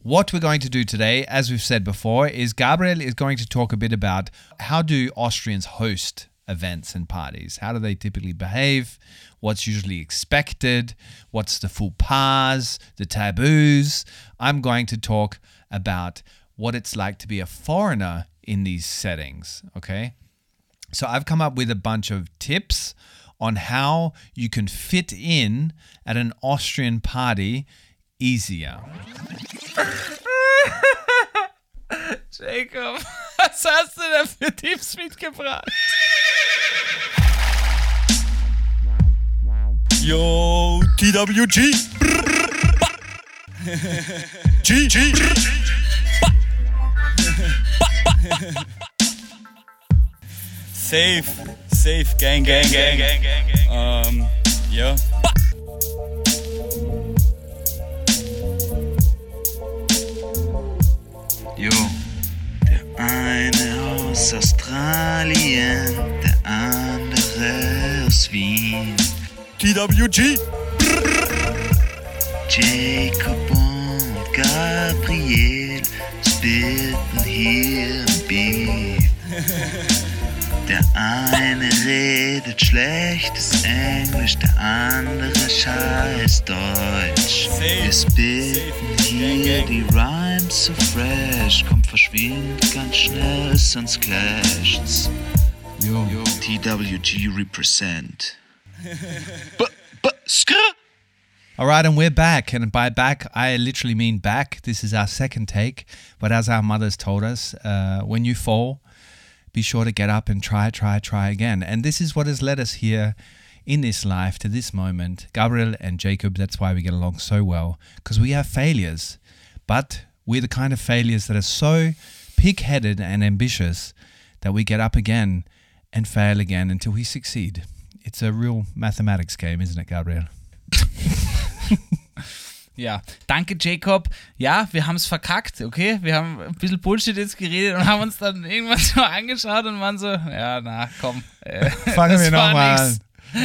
what we're going to do today, as we've said before, is Gabriel is going to talk a bit about how do Austrians host events and parties? How do they typically behave? What's usually expected? What's the faux pas, the taboos? I'm going to talk about what it's like to be a foreigner in these settings, okay? So I've come up with a bunch of tips on how you can fit in at an Austrian party easier. Jacob, was hast du da für Tipps mitgebracht? Yo, TWG. G. Safe, gang. Ja. Jo, der eine aus Australien, der andere aus Wien. TWG. Jacob und Gabriel spitten hier im Beat. Der eine redet schlechtes Englisch, der andere scheiß Deutsch. Wir spitten hier die Rhymes so fresh, kommt verschwindet ganz schnell, sonst clasht's. Yo. TWG represent. All right, and we're back. And by back, I literally mean back. This is our second take. But as our mothers told us, when you fall, be sure to get up and try again. And this is what has led us here in this life to this moment. Gabriel and Jacob, that's why we get along so well, because we have failures. But we're the kind of failures that are so pig-headed and ambitious that we get up again and fail again until we succeed. It's a real mathematics game, isn't it, Gabriel? Ja, danke Jacob. Ja, wir haben es verkackt, okay? Wir haben ein bisschen Bullshit jetzt geredet und haben uns dann irgendwann so angeschaut und waren so, ja, na, komm. Fangen wir nochmal an.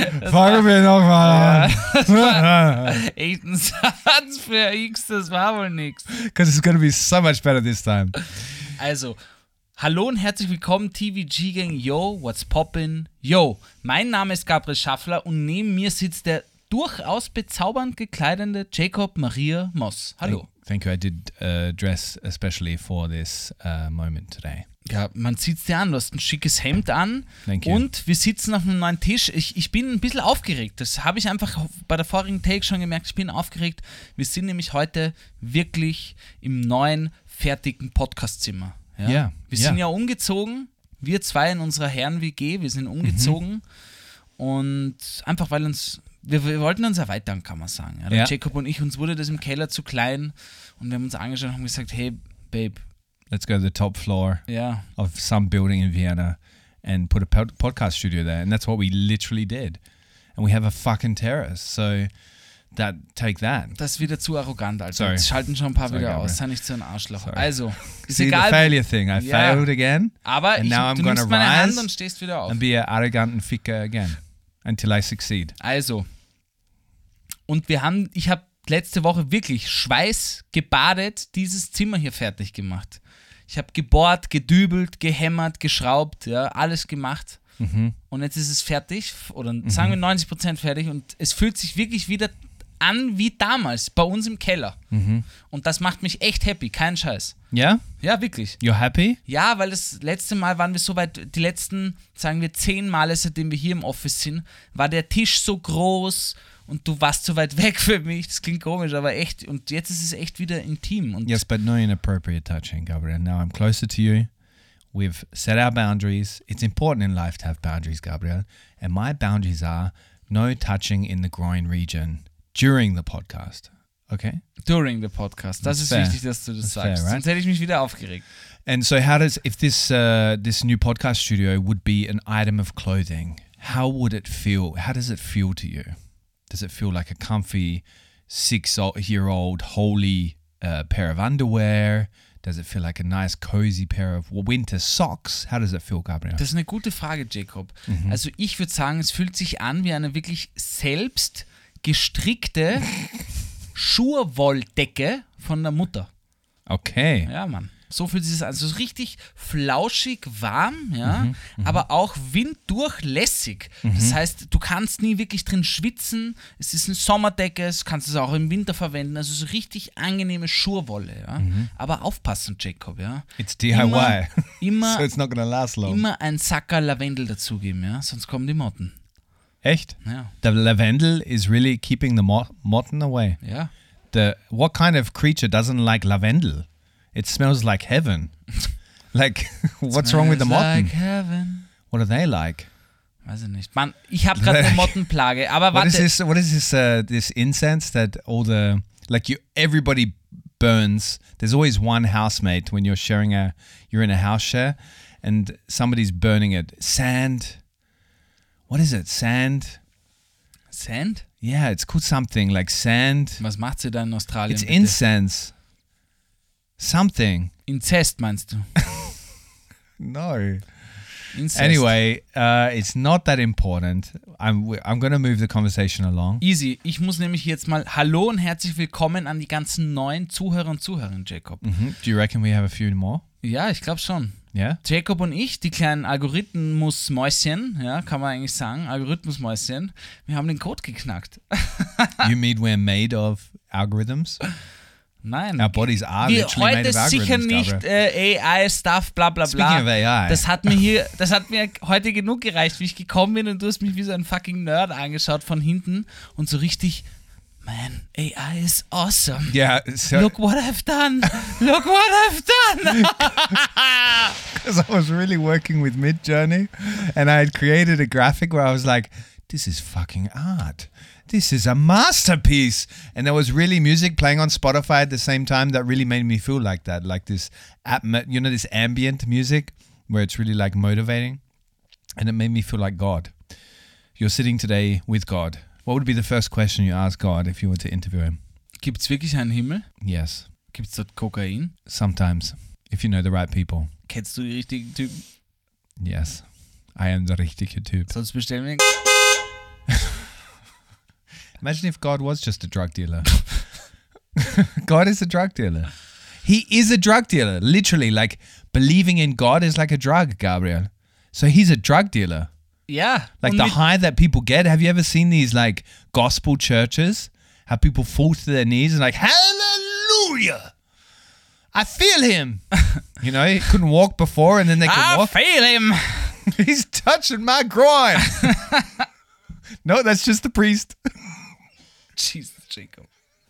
Das war echt ein Satz für X, das war wohl nix. Because it's going to be so much better this time. Also, hallo und herzlich willkommen, TWG Gang. Yo, what's poppin'? Yo, mein Name ist Gabriel Schaffler und neben mir sitzt der durchaus bezaubernd gekleidete Jacob Maria Moss. Hallo. Thank you. I did dress especially for this moment today. Ja, man sieht's dir an. Du hast ein schickes Hemd an. Thank you. Und wir sitzen auf einem neuen Tisch. Ich bin ein bisschen aufgeregt. Das habe ich einfach bei der vorigen Take schon gemerkt. Ich bin aufgeregt. Wir sind nämlich heute wirklich im neuen, fertigen Podcastzimmer. Ja? Yeah. Wir sind ja umgezogen. Wir zwei in unserer Herren-WG. Wir sind umgezogen. Und einfach, weil wir wollten uns erweitern, kann man sagen. Ja? Ja. Jacob und ich, uns wurde das im Keller zu klein und wir haben uns angeschaut und haben gesagt, hey, Babe. Let's go to the top floor Yeah. of some building in Vienna and put a podcast studio there. And that's what we literally did. And we have a fucking terrace. So take that. Das ist wieder zu arrogant, Alter. Sorry. Jetzt schalten schon ein paar Sorry, wieder Gabriel. aus. Sei nicht so ein Arschloch. Sorry. Also, ist See egal. the failure thing. I failed again. Aber and now I'm du going nimmst to meine Hand rise und stehst wieder auf. and be an arrogant ficker again until I succeed. Also, und ich habe letzte Woche wirklich schweißgebadet dieses Zimmer hier fertig gemacht. Ich habe gebohrt, gedübelt, gehämmert, geschraubt, ja, alles gemacht. Und jetzt ist es fertig, oder sagen wir 90% fertig und es fühlt sich wirklich wieder an wie damals, bei uns im Keller. Und das macht mich echt happy, kein Scheiß. Yeah? Ja, wirklich. You're happy? Ja, weil das letzte Mal waren wir so weit, die letzten, sagen wir 10 Male, seitdem wir hier im Office sind, war der Tisch so groß und du warst so weit weg für mich. Das klingt komisch, aber echt. Und jetzt ist es echt wieder intim. Und Yes, but no inappropriate touching, Gabriel. Now I'm closer to you. We've set our boundaries. It's important in life to have boundaries, Gabriel. And my boundaries are no touching in the groin region during the podcast. Okay? during the podcast. Das That's ist fair. wichtig, dass du das That's sagst. fair, right? Sonst hätte ich mich wieder aufgeregt. And so how does, if this new podcast studio would be an item of clothing, how would it feel? How does it feel to you? Does it feel like a comfy 6-year-old holy pair of underwear? Does it feel like a nice cozy pair of winter socks? How does it feel, Gabriel? Das ist eine gute Frage, Jacob. Also ich würde sagen, es fühlt sich an wie eine wirklich selbst gestrickte Schurwolldecke von der Mutter. Okay. Ja, Mann. So fühlt sich das an. So richtig flauschig, warm, ja, aber auch winddurchlässig. Das heißt, du kannst nie wirklich drin schwitzen. Es ist eine Sommerdecke, du kannst es auch im Winter verwenden. Also so richtig angenehme Schurwolle, ja. Aber aufpassen, Jacob, ja. It's DIY. Immer, So it's not gonna last long. immer ein Sackerl Lavendel dazugeben, ja, sonst kommen die Motten. Echt? Ja. The lavendel is really keeping the motten away. Ja. What kind of creature doesn't like lavendel? It smells like heaven. Like, what's wrong with the motten? Like heaven. What are they like? Weiß ich nicht. Mann, ich habe gerade eine Mottenplage, aber What warte. is this? This incense that everybody burns. There's always one housemate when you're in a house share, and somebody's burning it. Sand. What is it? Sand. Sand? Yeah, it's called something like sand. Was macht sie da in Australien? It's bitte? incense. Something. Inzest meinst du? No. Inzest. Anyway, it's not that important. I'm going to move the conversation along. Easy. Ich muss nämlich jetzt mal Hallo und herzlich willkommen an die ganzen neuen Zuhörer und Zuhörerinnen, Jacob. Do you reckon we have a few more? Ja, ich glaube schon. Yeah? Jacob und ich, die kleinen Algorithmusmäuschen, ja, kann man eigentlich sagen, Algorithmusmäuschen, wir haben den Code geknackt. You mean we're made of algorithms? Nein. Our bodies are Wir literally made heute of sicher algorithms, nicht Gabriel. AI-Stuff, bla bla bla. Speaking of AI. Das hat mir heute genug gereicht, wie ich gekommen bin und du hast mich wie so ein fucking Nerd angeschaut von hinten und so richtig, man, AI is awesome. Yeah, so Look what I've done. Look what I've done. because I was really working with Midjourney, and I had created a graphic where I was like, this is fucking art. This is a masterpiece. And there was really music playing on Spotify at the same time that really made me feel like that, like this, this ambient music where it's really like motivating. And it made me feel like God. You're sitting today with God. What would be the first question you ask God if you were to interview him? Gibt's wirklich einen Himmel? Yes, Gibt's dort Kokain? sometimes, if you know the right people. Kennst du die richtigen Typen? Yes, I am the richtige Typ. Sonst bestellen wir. Imagine if God was just a drug dealer. God is a drug dealer. He is a drug dealer. Literally, like believing in God is like a drug, Gabriel. So he's a drug dealer. Ja. Like und the mit- high that people get. Have you ever seen these like gospel churches? How people fall to their knees and like, hallelujah. I feel him. You know, he couldn't walk before and then they could I walk. feel him. He's touching my groin. No, that's just the priest. Jesus, Jacob.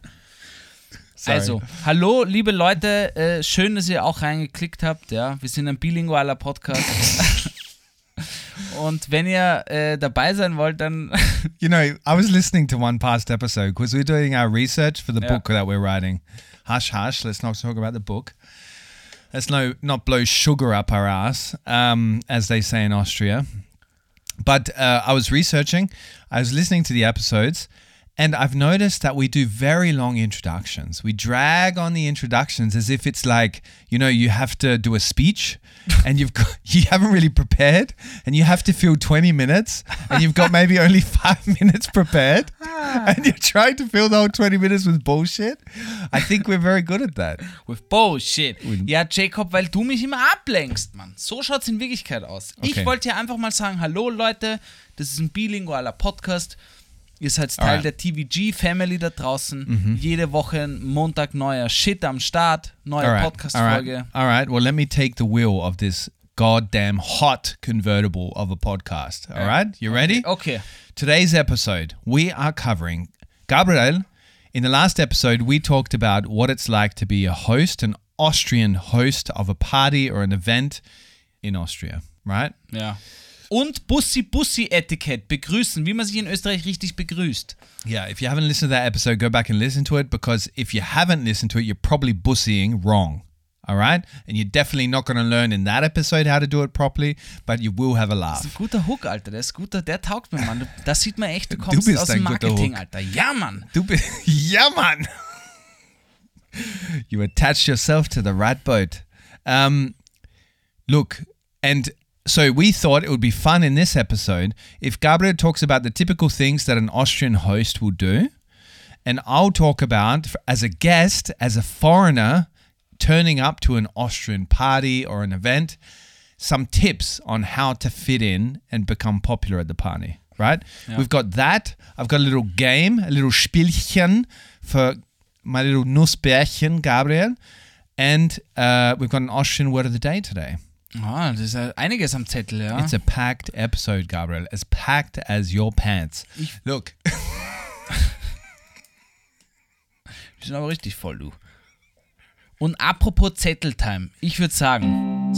Sorry. Also, hallo, liebe Leute, schön, dass ihr auch reingeklickt habt. Ja, wir sind ein bilingualer Podcast. Und wenn ihr dabei sein wollt, dann You know, I was listening to one past episode because we're doing our research for the Yeah. book that we're writing. Hush, hush. Let's not talk about the book. Let's not blow sugar up our ass, as they say in Austria. But I was researching. I was listening to the episodes. And I've noticed that we do very long introductions. We drag on the introductions as if it's like, you know, you have to do a speech and you haven't really prepared and you have to fill 20 minutes and you've got maybe only 5 minutes prepared and you're trying to fill the whole 20 minutes with bullshit. I think we're very good at that. with Bullshit. Ja, Jacob, weil du mich immer ablenkst, Mann. So schaut's in Wirklichkeit aus. Okay. Ich wollte ja einfach mal sagen, hallo Leute, das ist ein bilingualer Podcast. Ihr seid Teil Alright. der TVG-Family da draußen. Jede Woche Montag neuer Shit am Start, neue Podcast-Folge. All right. Well, let me take the wheel of this goddamn hot convertible of a podcast. All right. You ready? Okay. Today's episode, we are covering Gabriel. In the last episode, we talked about what it's like to be a host, an Austrian host of a party or an event in Austria, right? Ja. Und Bussi-Bussi-Etikett, begrüßen, wie man sich in Österreich richtig begrüßt. Yeah, if you haven't listened to that episode, go back and listen to it because if you haven't listened to it, you're probably bussying wrong. All right? And you're definitely not going to learn in that episode how to do it properly, but you will have a Das ist laugh. ein guter Hook, Alter. Der taugt mir, Mann. Das sieht man echt, du kommst bist aus ein dem guter Marketing, Hook. Alter. Ja, Mann. Yeah, man. You attached yourself to the right boat. Look, and so we thought it would be fun in this episode if Gabriel talks about the typical things that an Austrian host will do, and I'll talk about, as a guest, as a foreigner turning up to an Austrian party or an event, some tips on how to fit in and become popular at the party, right? Yeah. We've got that. I've got a little game, a little Spielchen for my little Nussbärchen, Gabriel. And we've got an Austrian word of the day today. Das ist ja einiges am Zettel, ja. It's a packed episode, Gabriel. As packed as your pants. Look. Die sind aber richtig voll, du. Und apropos Zetteltime, ich würde sagen...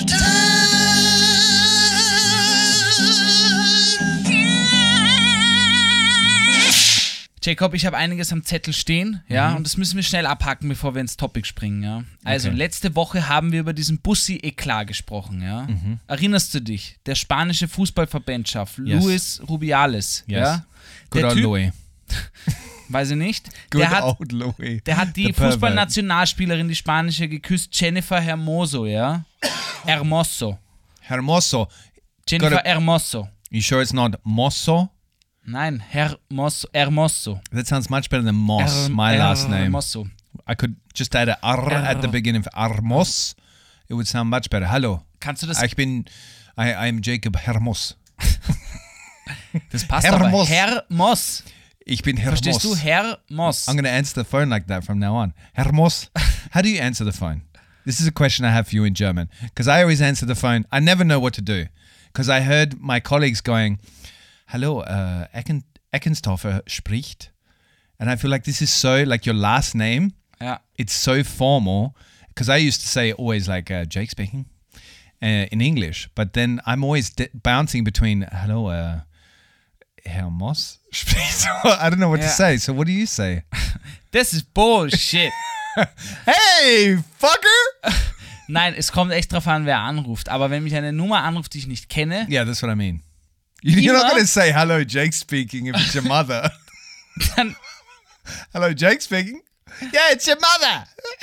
Jacob, ich habe einiges am Zettel stehen, ja, und das müssen wir schnell abhaken, bevor wir ins Topic springen, ja. Also, letzte Woche haben wir über diesen Bussi-Eklat gesprochen, ja. Erinnerst du dich? Der spanische Fußballverbandschef, Luis Rubiales, ja. Good Der old Typ, Louis. weiß ich nicht, Good der hat old Louis. die The pervert. Fußballnationalspielerin, die spanische, geküsst, Jennifer Hermoso, ja. Hermoso. Hermoso. Jennifer Hermoso. You sure it's not Mosso? Nein, Hermoso. That sounds much better than Moss, my last name. Hermoso. I could just add a R at the beginning of Armos. It would sound much better. Hallo. Kannst du das? I'm Jacob Hermos. Das passt Hermos. aber. Hermos. Ich bin Hermos. Verstehst du? Hermos. I'm going to answer the phone like that from now on. Hermos. How do you answer the phone? This is a question I have for you in German. Because I always answer the phone. I never know what to do. Because I heard my colleagues going, Hallo, Eckenstorfer spricht. And I feel like this is so, like your last name. Ja. It's so formal. Because I used to say always like, Jake speaking in English. But then I'm always bouncing between, hello, Hermos spricht. I don't know what to say. So what do you say? Das ist Bullshit. Hey, fucker! Nein, es kommt echt drauf an, wer anruft. Aber wenn mich eine Nummer anruft, die ich nicht kenne, Yeah, that's what I mean. You're not Immer? going to say, hello, Jake speaking, if it's your mother. dann Hello, Jake speaking. Yeah, it's your mother.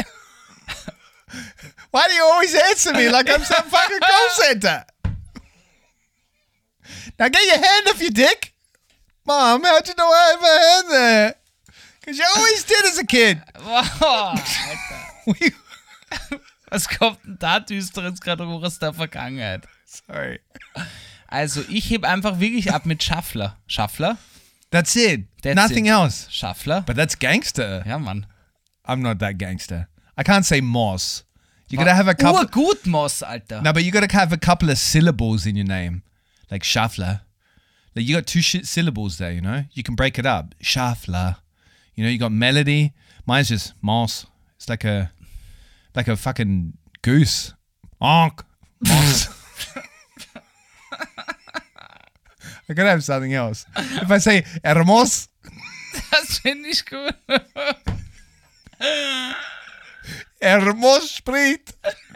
Why do you always answer me like I'm some fucking call center? Now get your hand off your dick. Mom, how'd you know I have a hand there? Because you always did as a kid. wow, Alter. Was kommt denn da Düsteres gerade hoch aus der Vergangenheit? Sorry. Also, ich heb einfach wirklich ab mit Schaffler. Schaffler? That's it. That's Nothing it. else. Schaffler? But that's gangster. Ja, Mann. I'm not that gangster. I can't say Moss. You gotta have a couple. Urgut, Moss, Alter. No, but you gotta have a couple of syllables in your name, like Schaffler. Like you got two syllables there, you know. You can break it up. Schaffler. You know, you got melody. Mine's just Moss. It's like a fucking goose. Onk. Moss. I gotta have something else. If I say Hermos, Das finde ich gut. Hermos spricht.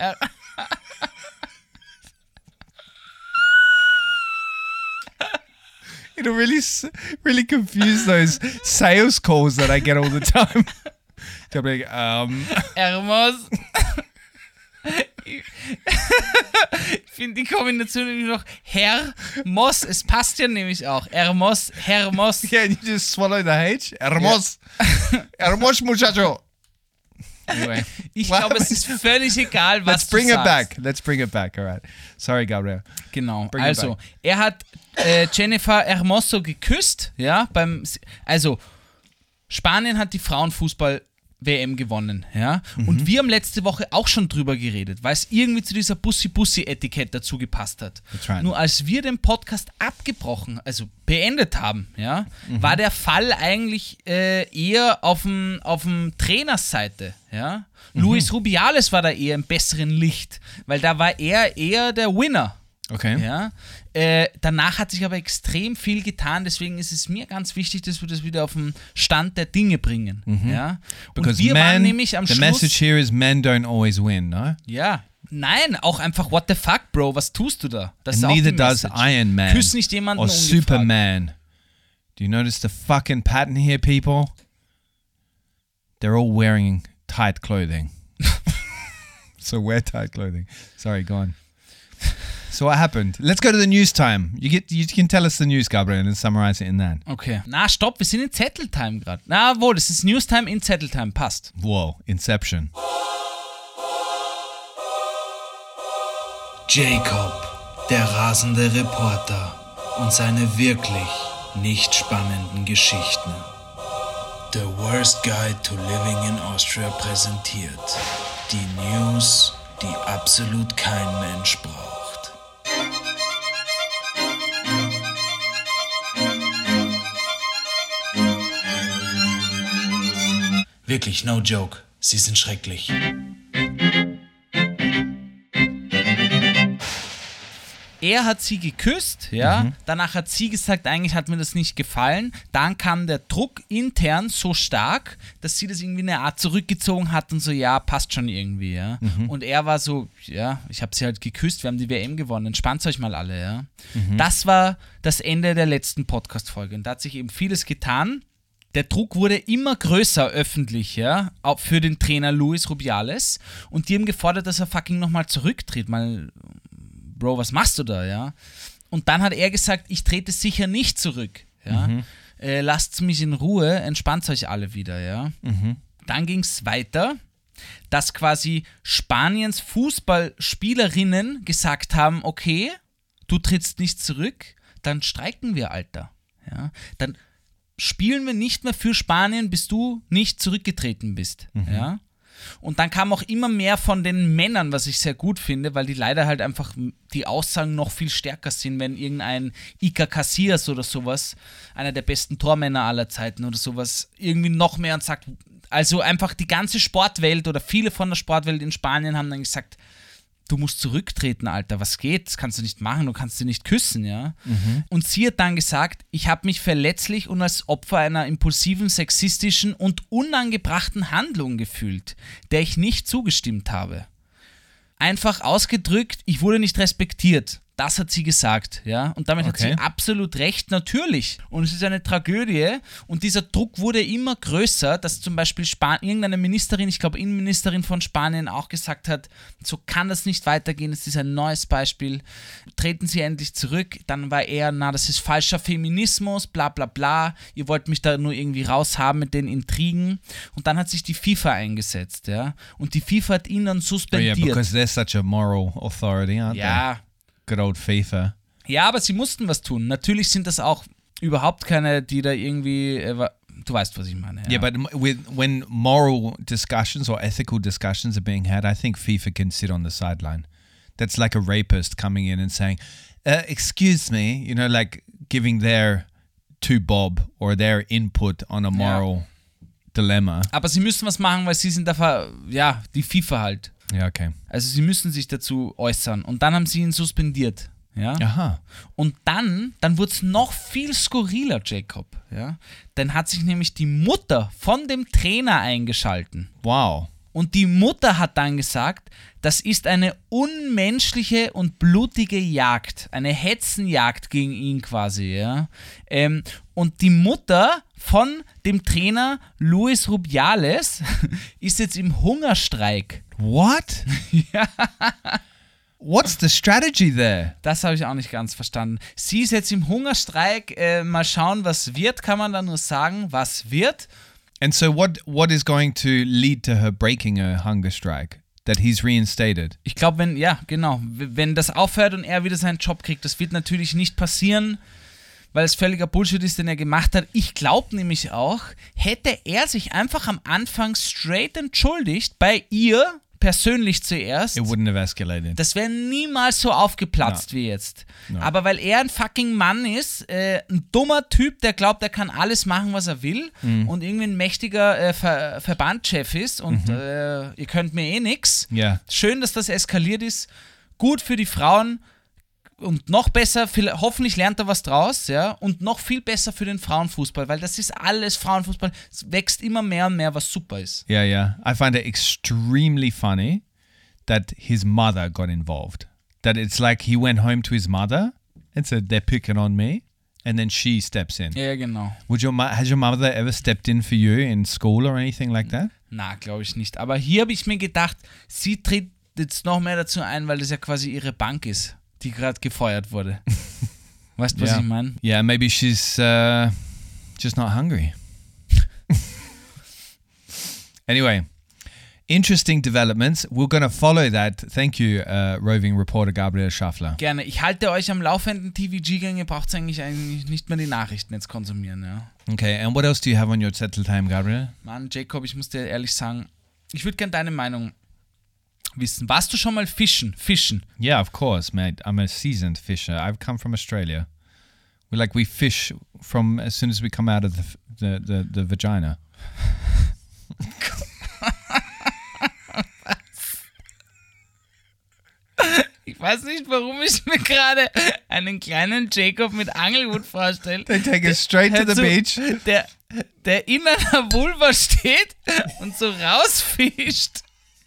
It'll really confuse those sales calls that I get all the time. They'll be like, Hermos. Ich finde die Kombination nämlich noch Hermos. Es passt ja nämlich auch. Hermos. yeah, you just swallow the H. Hermos. Hermos, muchacho. Anyway, Ich glaube, es ist völlig egal, was let's bring du it sagst. back. Let's bring it back. All right. Sorry, Gabriel. Genau. Bring it Also, back. er hat Jennifer Hermoso geküsst, ja, also Spanien hat die Frauenfußball-WM gewonnen, ja, und wir haben letzte Woche auch schon drüber geredet, weil es irgendwie zu dieser Bussi-Bussi-Etikett dazu gepasst hat. That's right. Nur als wir den Podcast abgebrochen, also beendet haben, ja, war der Fall eigentlich eher auf dem Trainersseite, ja. Luis Rubiales war da eher im besseren Licht, weil da war er eher der Winner. Okay. Ja, danach hat sich aber extrem viel getan, deswegen ist es mir ganz wichtig, dass wir das wieder auf den Stand der Dinge bringen. Ja? Und Because wir waren men, nämlich am the Schluss... message here is men don't always win, no? Ja, nein, auch einfach what the fuck, Bro, was tust du da? Das ist And auch die neither does Message. Iron Man Küss nicht jemanden or ungefragt. Superman. Do you notice the fucking pattern here, people? They're all wearing tight clothing. So wear tight clothing. Sorry, go on. So what happened? Let's go to the news time. You can tell us the news, Gabriel, and summarize it in that. Okay. Na, stopp, wir sind in Zetteltime gerade. Na, wohl, das ist Newstime in Zetteltime, passt. Whoa, Inception. Jacob, der rasende Reporter und seine wirklich nicht spannenden Geschichten. The Worst Guide to Living in Austria präsentiert die News, die absolut kein Mensch braucht. Wirklich, no joke. Sie sind schrecklich. Er hat sie geküsst, ja. Danach hat sie gesagt, eigentlich hat mir das nicht gefallen. Dann kam der Druck intern so stark, dass sie das irgendwie eine Art zurückgezogen hat und so, ja, passt schon irgendwie, ja. Und er war so, ja, ich habe sie halt geküsst, wir haben die WM gewonnen, entspannt euch mal alle, ja. Das war das Ende der letzten Podcast-Folge und da hat sich eben vieles getan. Der Druck wurde immer größer öffentlich, ja, auch für den Trainer Luis Rubiales und die haben gefordert, dass er fucking nochmal zurücktritt, mal... Bro, was machst du da, ja? Und dann hat er gesagt, ich trete sicher nicht zurück, ja? Lasst mich in Ruhe, entspannt euch alle wieder, ja? Dann ging es weiter, dass quasi Spaniens Fußballspielerinnen gesagt haben, okay, du trittst nicht zurück, dann streiken wir, Alter, ja? Dann spielen wir nicht mehr für Spanien, bis du nicht zurückgetreten bist, ja? Und dann kam auch immer mehr von den Männern, was ich sehr gut finde, weil die leider halt einfach die Aussagen noch viel stärker sind, wenn irgendein Iker Casillas oder sowas, einer der besten Tormänner aller Zeiten oder sowas, irgendwie noch mehr und sagt, also einfach die ganze Sportwelt oder viele von der Sportwelt in Spanien haben dann gesagt, du musst zurücktreten, Alter, was geht? Das kannst du nicht machen, du kannst sie nicht küssen, ja? Und sie hat dann gesagt, ich habe mich verletzlich und als Opfer einer impulsiven, sexistischen und unangebrachten Handlung gefühlt, der ich nicht zugestimmt habe. Einfach ausgedrückt, ich wurde nicht respektiert. Das hat sie gesagt, ja. Und damit hat sie absolut recht, natürlich. Und es ist eine Tragödie. Und dieser Druck wurde immer größer, dass zum Beispiel irgendeine Ministerin, ich glaube Innenministerin von Spanien, auch gesagt hat, so kann das nicht weitergehen, es ist ein neues Beispiel. Treten Sie endlich zurück. Dann war er, das ist falscher Feminismus, bla bla bla. Ihr wollt mich da nur irgendwie raushaben mit den Intrigen. Und dann hat sich die FIFA eingesetzt, ja. Und die FIFA hat ihn dann suspendiert. Oh yeah, because they're such a moral authority, aren't they? Good old FIFA. Ja, aber sie mussten was tun. Natürlich sind das auch überhaupt keine, die da irgendwie, du weißt, was ich meine. Yeah, but when moral discussions or ethical discussions are being had, I think FIFA can sit on the sideline. That's like a rapist coming in and saying, excuse me, you know, like giving their to Bob or their input on a moral dilemma. Aber sie müssen was machen, weil sie sind die FIFA halt. Ja, okay. Also sie müssen sich dazu äußern. Und dann haben sie ihn suspendiert. Ja? Aha. Und dann wurde es noch viel skurriler, Jacob. Ja? Dann hat sich nämlich die Mutter von dem Trainer eingeschalten. Wow. Und die Mutter hat dann gesagt, das ist eine unmenschliche und blutige Jagd, eine Hetzenjagd gegen ihn quasi. Ja? Und die Mutter von dem Trainer Luis Rubiales ist jetzt im Hungerstreik. What? Ja. What's the strategy there? Das habe ich auch nicht ganz verstanden. Sie ist jetzt im Hungerstreik. Mal schauen, was wird, kann man da nur sagen, was wird. And so what is going to lead to her breaking a hunger strike? That he's reinstated? Ich glaube, wenn das aufhört und er wieder seinen Job kriegt, das wird natürlich nicht passieren, weil es völliger Bullshit ist, den er gemacht hat. Ich glaube nämlich auch, hätte er sich einfach am Anfang straight entschuldigt, bei ihr persönlich zuerst, It wouldn't have escalated. das wäre niemals so aufgeplatzt wie jetzt. Aber weil er ein fucking Mann ist, ein dummer Typ, der glaubt, er kann alles machen, was er will und irgendwie ein mächtiger Verbandschef ist und ihr könnt mir eh nix. Yeah. Schön, dass das eskaliert ist. Gut für die Frauen. Und noch besser, hoffentlich lernt er was draus, ja, und noch viel besser für den Frauenfußball, weil das ist alles Frauenfußball, es wächst immer mehr und mehr, was super ist. Yeah. I find it extremely funny that his mother got involved. That it's like he went home to his mother and said, they're picking on me, and then she steps in. Ja, genau. Has your mother ever stepped in for you in school or anything like that? Na, glaube ich nicht. Aber hier habe ich mir gedacht, sie tritt jetzt noch mehr dazu ein, weil das ja quasi ihre Bank ist, die gerade gefeuert wurde. Weißt du, was ich meine? Yeah, maybe she's just not hungry. Anyway, Interesting developments. We're going to follow that. Thank you, roving reporter Gabriel Schaffler. Gerne. Ich halte euch am laufenden TVG-Gang. Ihr braucht eigentlich nicht mehr die Nachrichten jetzt konsumieren, ja. Okay, and what else do you have on your Zetteltime, Gabriel? Mann, Jacob, ich muss dir ehrlich sagen, ich würde gerne deine Meinung wissen. Warst du schon mal fischen? Yeah, of course, mate. I'm a seasoned fisher. I've come from Australia. We fish from as soon as we come out of the vagina. Ich weiß nicht, warum ich mir gerade einen kleinen Jacob mit Angelhut vorstelle. They take us straight to the beach. Der in einer Vulva steht und so rausfischt.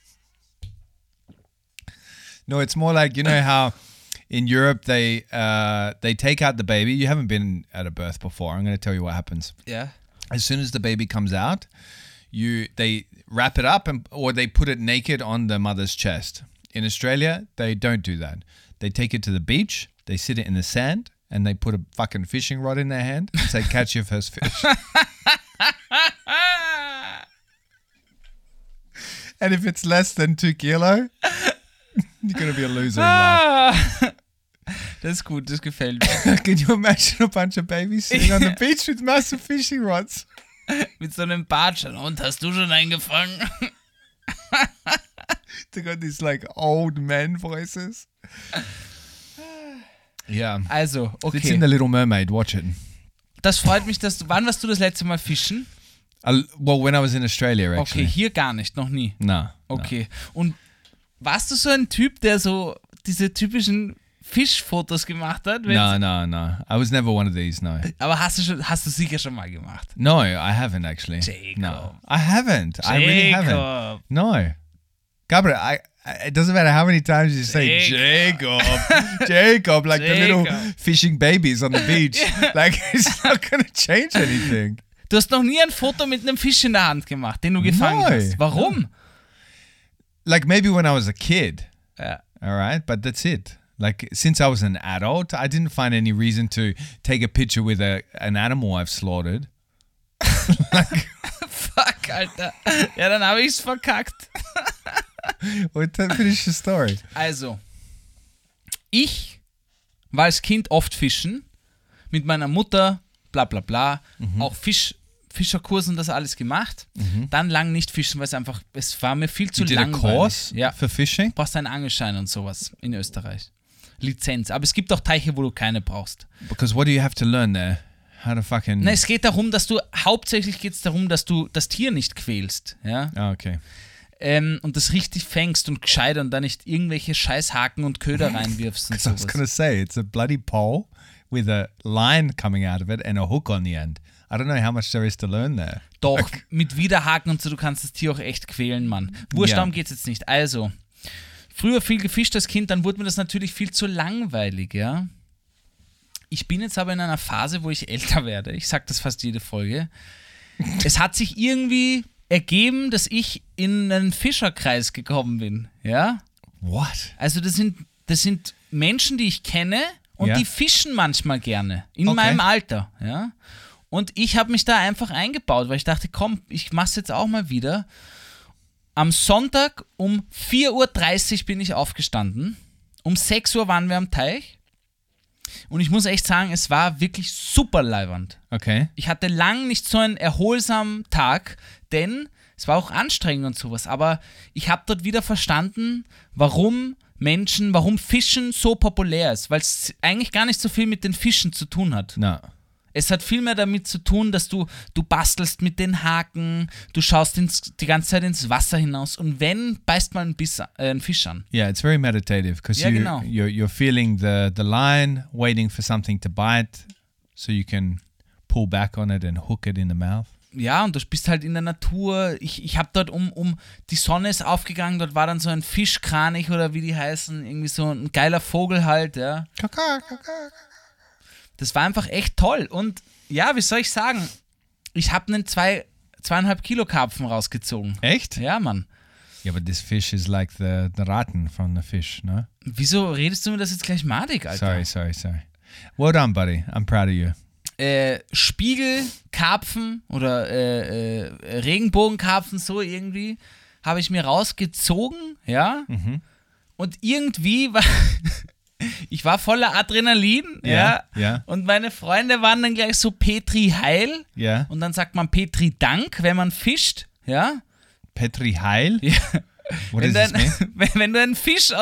No, it's more like, you know how in Europe they take out the baby. You haven't been at a birth before. I'm going to tell you what happens. Ja. As soon as the baby comes out, they wrap it up or they put it naked on the mother's chest. In Australia, they don't do that. They take it to the beach, they sit it in the sand, and they put a fucking fishing rod in their hand and say, catch your first fish. And if it's less than 2 kilo, you're going to be a loser in life. Das ist gut, das gefällt mir. Can you imagine a bunch of babies sitting on the beach with massive fishing rods? Mit so einem Bartschal. Und hast du schon eingefangen? They got these old men voices. Yeah. Also, okay. It's in The Little Mermaid. Watch it. Das freut mich, dass du... Wann warst du das letzte Mal fischen? Well, when I was in Australia, actually. Okay, hier gar nicht, noch nie. No. Okay. Und warst du so ein Typ, der so diese typischen Fischfotos gemacht hat? No. I was never one of these, no. Aber hast du sicher schon mal gemacht? No, I haven't actually. Jacob. No, I haven't. I really haven't. No. Gabriel, it doesn't matter how many times you say Jacob, like the little fishing babies on the beach. It's not going to change anything. Du hast noch nie ein Foto mit einem Fisch in der Hand gemacht, den du gefangen hast. Warum? Maybe when I was a kid. Ja. All right, but that's it. Since I was an adult, I didn't find any reason to take a picture with an animal I've slaughtered. Fuck, Alter. Ja, dann habe ich's verkackt. Finish the story. Also, ich war als Kind oft fischen, mit meiner Mutter, bla bla bla, auch Fischerkurs und das alles gemacht. Dann lang nicht fischen, weil es war mir viel zu langweilig. You did a course for fishing? Du brauchst einen Angelschein und sowas in Österreich. Lizenz. Aber es gibt auch Teiche, wo du keine brauchst. Because what do you have to learn there? How to fucking... Nein, es geht darum, hauptsächlich geht es darum, dass du das Tier nicht quälst. Ja? Ah, okay. Und das richtig fängst und gescheit und da nicht irgendwelche Scheißhaken und Köder reinwirfst und sowas. I was going to say, it's a bloody pole with a line coming out of it and a hook on the end. I don't know how much there is to learn there. Doch, mit Widerhaken und so, du kannst das Tier auch echt quälen, Mann. Wurscht, darum geht's jetzt nicht. Also, früher viel gefischt als Kind, dann wurde mir das natürlich viel zu langweilig, ja. Ich bin jetzt aber in einer Phase, wo ich älter werde. Ich sage das fast jede Folge. Es hat sich irgendwie ergeben, dass ich in einen Fischerkreis gekommen bin, ja. What? Also das sind Menschen, die ich kenne und die fischen manchmal gerne in meinem Alter, ja. Und ich habe mich da einfach eingebaut, weil ich dachte, komm, ich mach's jetzt auch mal wieder. Am Sonntag um 4:30 Uhr bin ich aufgestanden. Um 6 Uhr waren wir am Teich. Und ich muss echt sagen, es war wirklich super leiwand. Okay. Ich hatte lang nicht so einen erholsamen Tag, denn es war auch anstrengend und sowas. Aber ich habe dort wieder verstanden, warum Fischen so populär ist. Weil es eigentlich gar nicht so viel mit den Fischen zu tun hat. No. Es hat viel mehr damit zu tun, dass du bastelst mit den Haken, du schaust die ganze Zeit ins Wasser hinaus und beißt mal einen Fisch an. Yeah, it's very meditative because you're feeling the line, waiting for something to bite so you can pull back on it and hook it in the mouth. Ja, und du bist halt in der Natur. Ich habe dort die Sonne ist aufgegangen, dort war dann so ein Fischkranich oder wie die heißen, irgendwie so ein geiler Vogel halt, ja. Das war einfach echt toll. Und ja, wie soll ich sagen? Ich habe einen 2,5 Kilo Karpfen rausgezogen. Echt? Ja, Mann. Yeah, but this fish is like the Ratten from the fish, no? Wieso redest du mir das jetzt gleich madig, Alter? Sorry. Well done, buddy. I'm proud of you. Spiegel, Karpfen oder Regenbogenkarpfen, so irgendwie, habe ich mir rausgezogen, ja. Und irgendwie war ich war voller Adrenalin, ja. Und meine Freunde waren dann gleich so Petri Heil. Ja. Und dann sagt man Petri Dank, wenn man fischt, ja. Petri Heil? Ja. What does this mean? Wenn du einen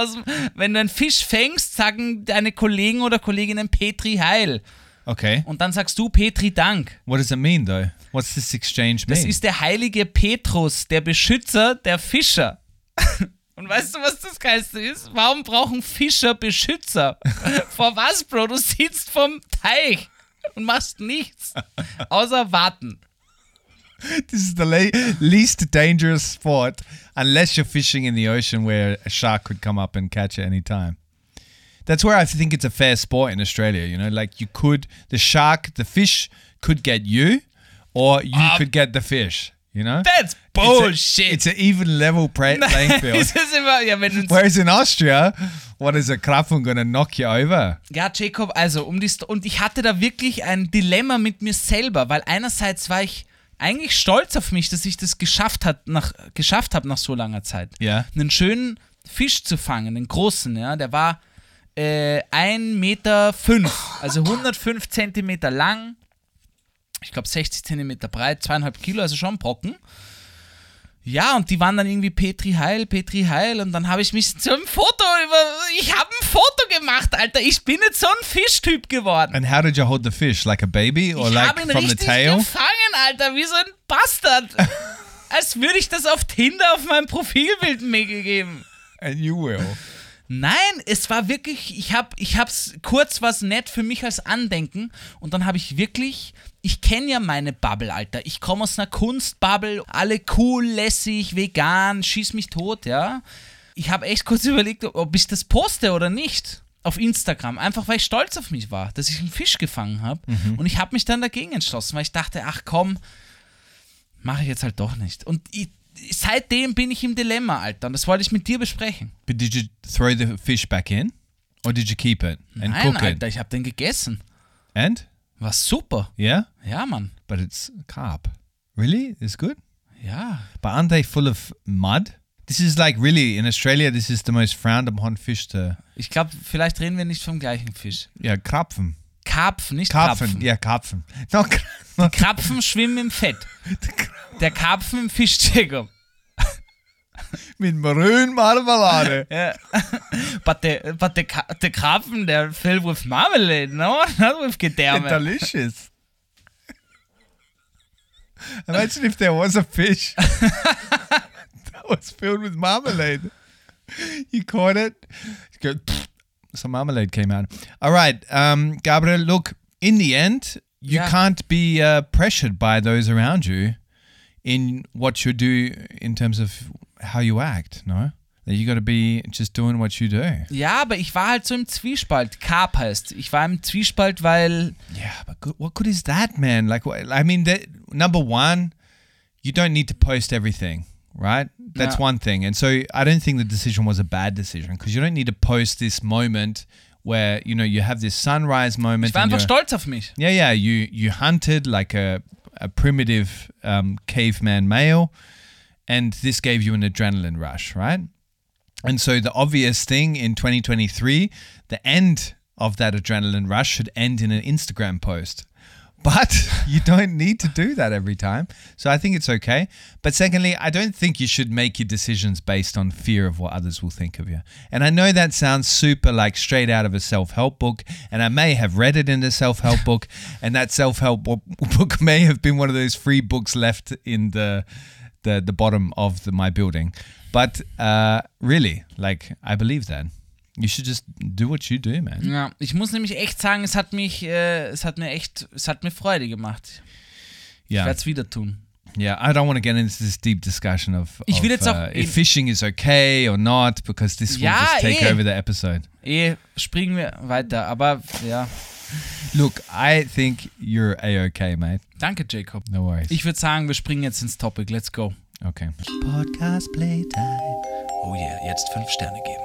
Fisch fängst, sagen deine Kollegen oder Kolleginnen Petri Heil. Okay. Und dann sagst du Petri Dank. What does it mean, though? What's this exchange mean? Das ist der heilige Petrus, der Beschützer der Fischer. Und weißt du, was das Geilste ist? Warum brauchen Fischer Beschützer? Vor was, Bro? Du sitzt vom Teich und machst nichts, außer warten. This is the least dangerous sport unless you're fishing in the ocean where a shark could come up and catch at any time. That's where I think it's a fair sport in Australia, you know, like the fish could get you or you could get the fish, you know? That's bullshit. It's an even level playing field. Es ist immer, ja, wenn du Whereas in Austria, what is a Krapfen gonna knock you over? Ja, Jacob, also und ich hatte da wirklich ein Dilemma mit mir selber, weil einerseits war ich eigentlich stolz auf mich, dass ich das geschafft habe nach so langer Zeit. Ja. Einen schönen Fisch zu fangen, einen großen, ja, der war 1,5 Meter, also 105 Zentimeter lang, ich glaube 60 Zentimeter breit, 2,5 Kilo, also schon ein Brocken. Ja, und die waren dann irgendwie Petri Heil und dann habe ich mich zu einem ich habe ein Foto gemacht, Alter, ich bin jetzt so ein Fischtyp geworden. And how did you hold the fish? Like a baby or Ich like habe ihn from the richtig tail? gefangen, Alter, wie so ein Bastard. Als würde ich das auf Tinder auf meinem Profilbild mir gegeben. And you will. Nein, es war wirklich, ich hab's kurz was nett für mich als Andenken und dann habe ich wirklich, ich kenne ja meine Bubble, Alter. Ich komme aus einer Kunstbubble, alle cool, lässig, vegan, schieß mich tot, ja. Ich habe echt kurz überlegt, ob ich das poste oder nicht auf Instagram, einfach weil ich stolz auf mich war, dass ich einen Fisch gefangen habe und ich habe mich dann dagegen entschlossen, weil ich dachte, ach komm, mache ich jetzt halt doch nicht. Und seitdem bin ich im Dilemma, Alter, und das wollte ich mit dir besprechen. But did you throw the fish back in? Or did you keep it and Nein, cook Alter, it? ich habe den gegessen. And? War super. Yeah? Ja, Mann. But it's carp. Really? It's good? Ja. But aren't they full of mud? This is like really, in Australia, this is the most frowned upon fish to... Ich glaube, vielleicht reden wir nicht vom gleichen Fisch. Yeah, Krapfen. Karpfen, nicht Karpfen. Krapfen. Yeah, Karpfen. No, Die Krapfen schwimmen im Fett. Der Karpfen im Fisch, Jacob. Mit maroon marmalade. Yeah. But the Krapfen, they're filled with marmalade, no? Not with gedärme. Delicious. Imagine if there was a fish that was filled with marmalade. You caught it. You go, some marmalade came out. All right, Gabriel, look, in the end, you can't be pressured by those around you in what you do in terms of how you act, no? That you got to be just doing what you do. Ja, aber ich war halt so im Zwiespalt. Carp heißt. Ich war im Zwiespalt, weil... Yeah, but what good is that, man? Like, I mean, number one, you don't need to post everything, right? That's one thing. And so I don't think the decision was a bad decision because you don't need to post this moment where, you know, you have this sunrise moment. Ich war einfach stolz auf mich. Yeah, you hunted like a primitive caveman male and this gave you an adrenaline rush, right? And so the obvious thing in 2023, the end of that adrenaline rush should end in an Instagram post. But you don't need to do that every time. So I think it's okay. But secondly, I don't think you should make your decisions based on fear of what others will think of you. And I know that sounds super like straight out of a self-help book. And I may have read it in a self-help book. And that self-help book may have been one of those free books left in the bottom of my building. But really, like, I believe that. You should just do what you do, man. Ja, ich muss nämlich echt sagen, es hat mir Freude gemacht. Ich werde es wieder tun. Yeah, I don't want to get into this deep discussion of Ich will jetzt auch if fishing is okay or not, because this will just take over the episode. Springen wir weiter, aber ja. Look, I think you're A-okay, mate. Danke, Jacob. No worries. Ich würde sagen, wir springen jetzt ins Topic. Let's go. Okay. Podcast Playtime. Oh yeah, jetzt 5 Sterne geben.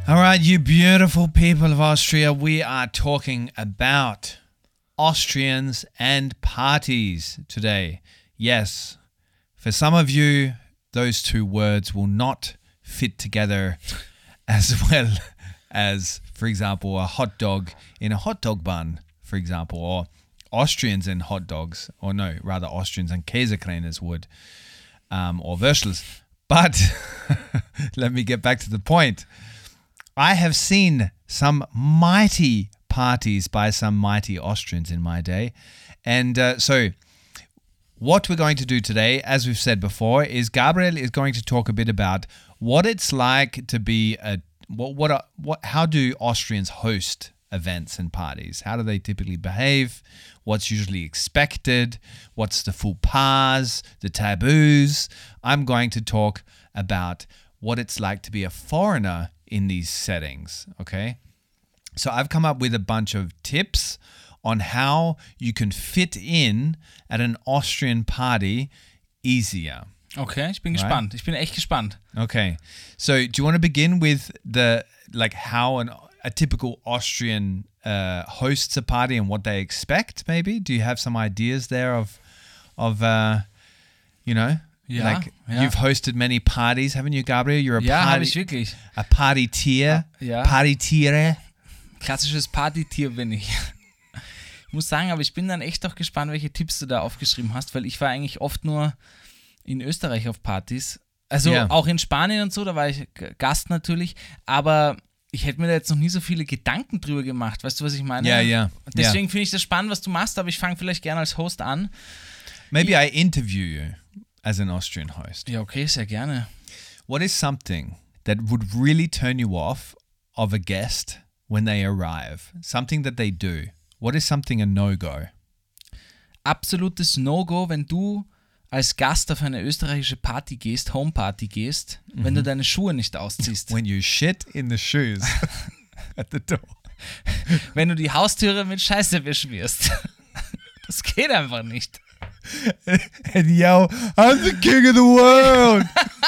All right, you beautiful people of Austria, we are talking about Austrians and parties today. Yes, for some of you, those two words will not fit together as well as, for example, a hot dog in a hot dog bun, for example, or Austrians and hot dogs, or no, rather Austrians and Käsekreines would, or Würstels. But let me get back to the point. I have seen some mighty parties by some mighty Austrians in my day. And so what we're going to do today, as we've said before, is Gabriel is going to talk a bit about what it's like to be how do Austrians host events and parties? How do they typically behave? What's usually expected? What's the faux pas, the taboos? I'm going to talk about what it's like to be a foreigner in these settings, okay? So I've come up with a bunch of tips on how you can fit in at an Austrian party easier. Okay, ich bin gespannt. Ich bin echt gespannt. Okay, so do you want to begin with how a typical Austrian hosts a party and what they expect? Maybe do you have some ideas there of You've hosted many parties, haven't you, Gabriel? You're habe ich wirklich. A Partytier. Ja. Partytiere. Klassisches Partytier bin ich. Ich muss sagen, aber ich bin dann echt auch gespannt, welche Tipps du da aufgeschrieben hast, weil ich war eigentlich oft nur in Österreich auf Partys. Also auch in Spanien und so, da war ich Gast natürlich, aber ich hätte mir da jetzt noch nie so viele Gedanken drüber gemacht. Weißt du, was ich meine? Ja. Deswegen finde ich das spannend, was du machst, aber ich fange vielleicht gerne als Host an. Maybe I interview you as an Austrian host. Ja, okay, sehr gerne. What is something that would really turn you off of a guest when they arrive? Something that they do. What is something a no-go? Absolutes No-Go, wenn du als Gast auf eine österreichische Party gehst, Homeparty gehst, wenn du deine Schuhe nicht ausziehst. When you shit in the shoes at the door. Wenn du die Haustüre mit Scheiße beschmierst. Das geht einfach nicht. And yell, I'm the king of the world.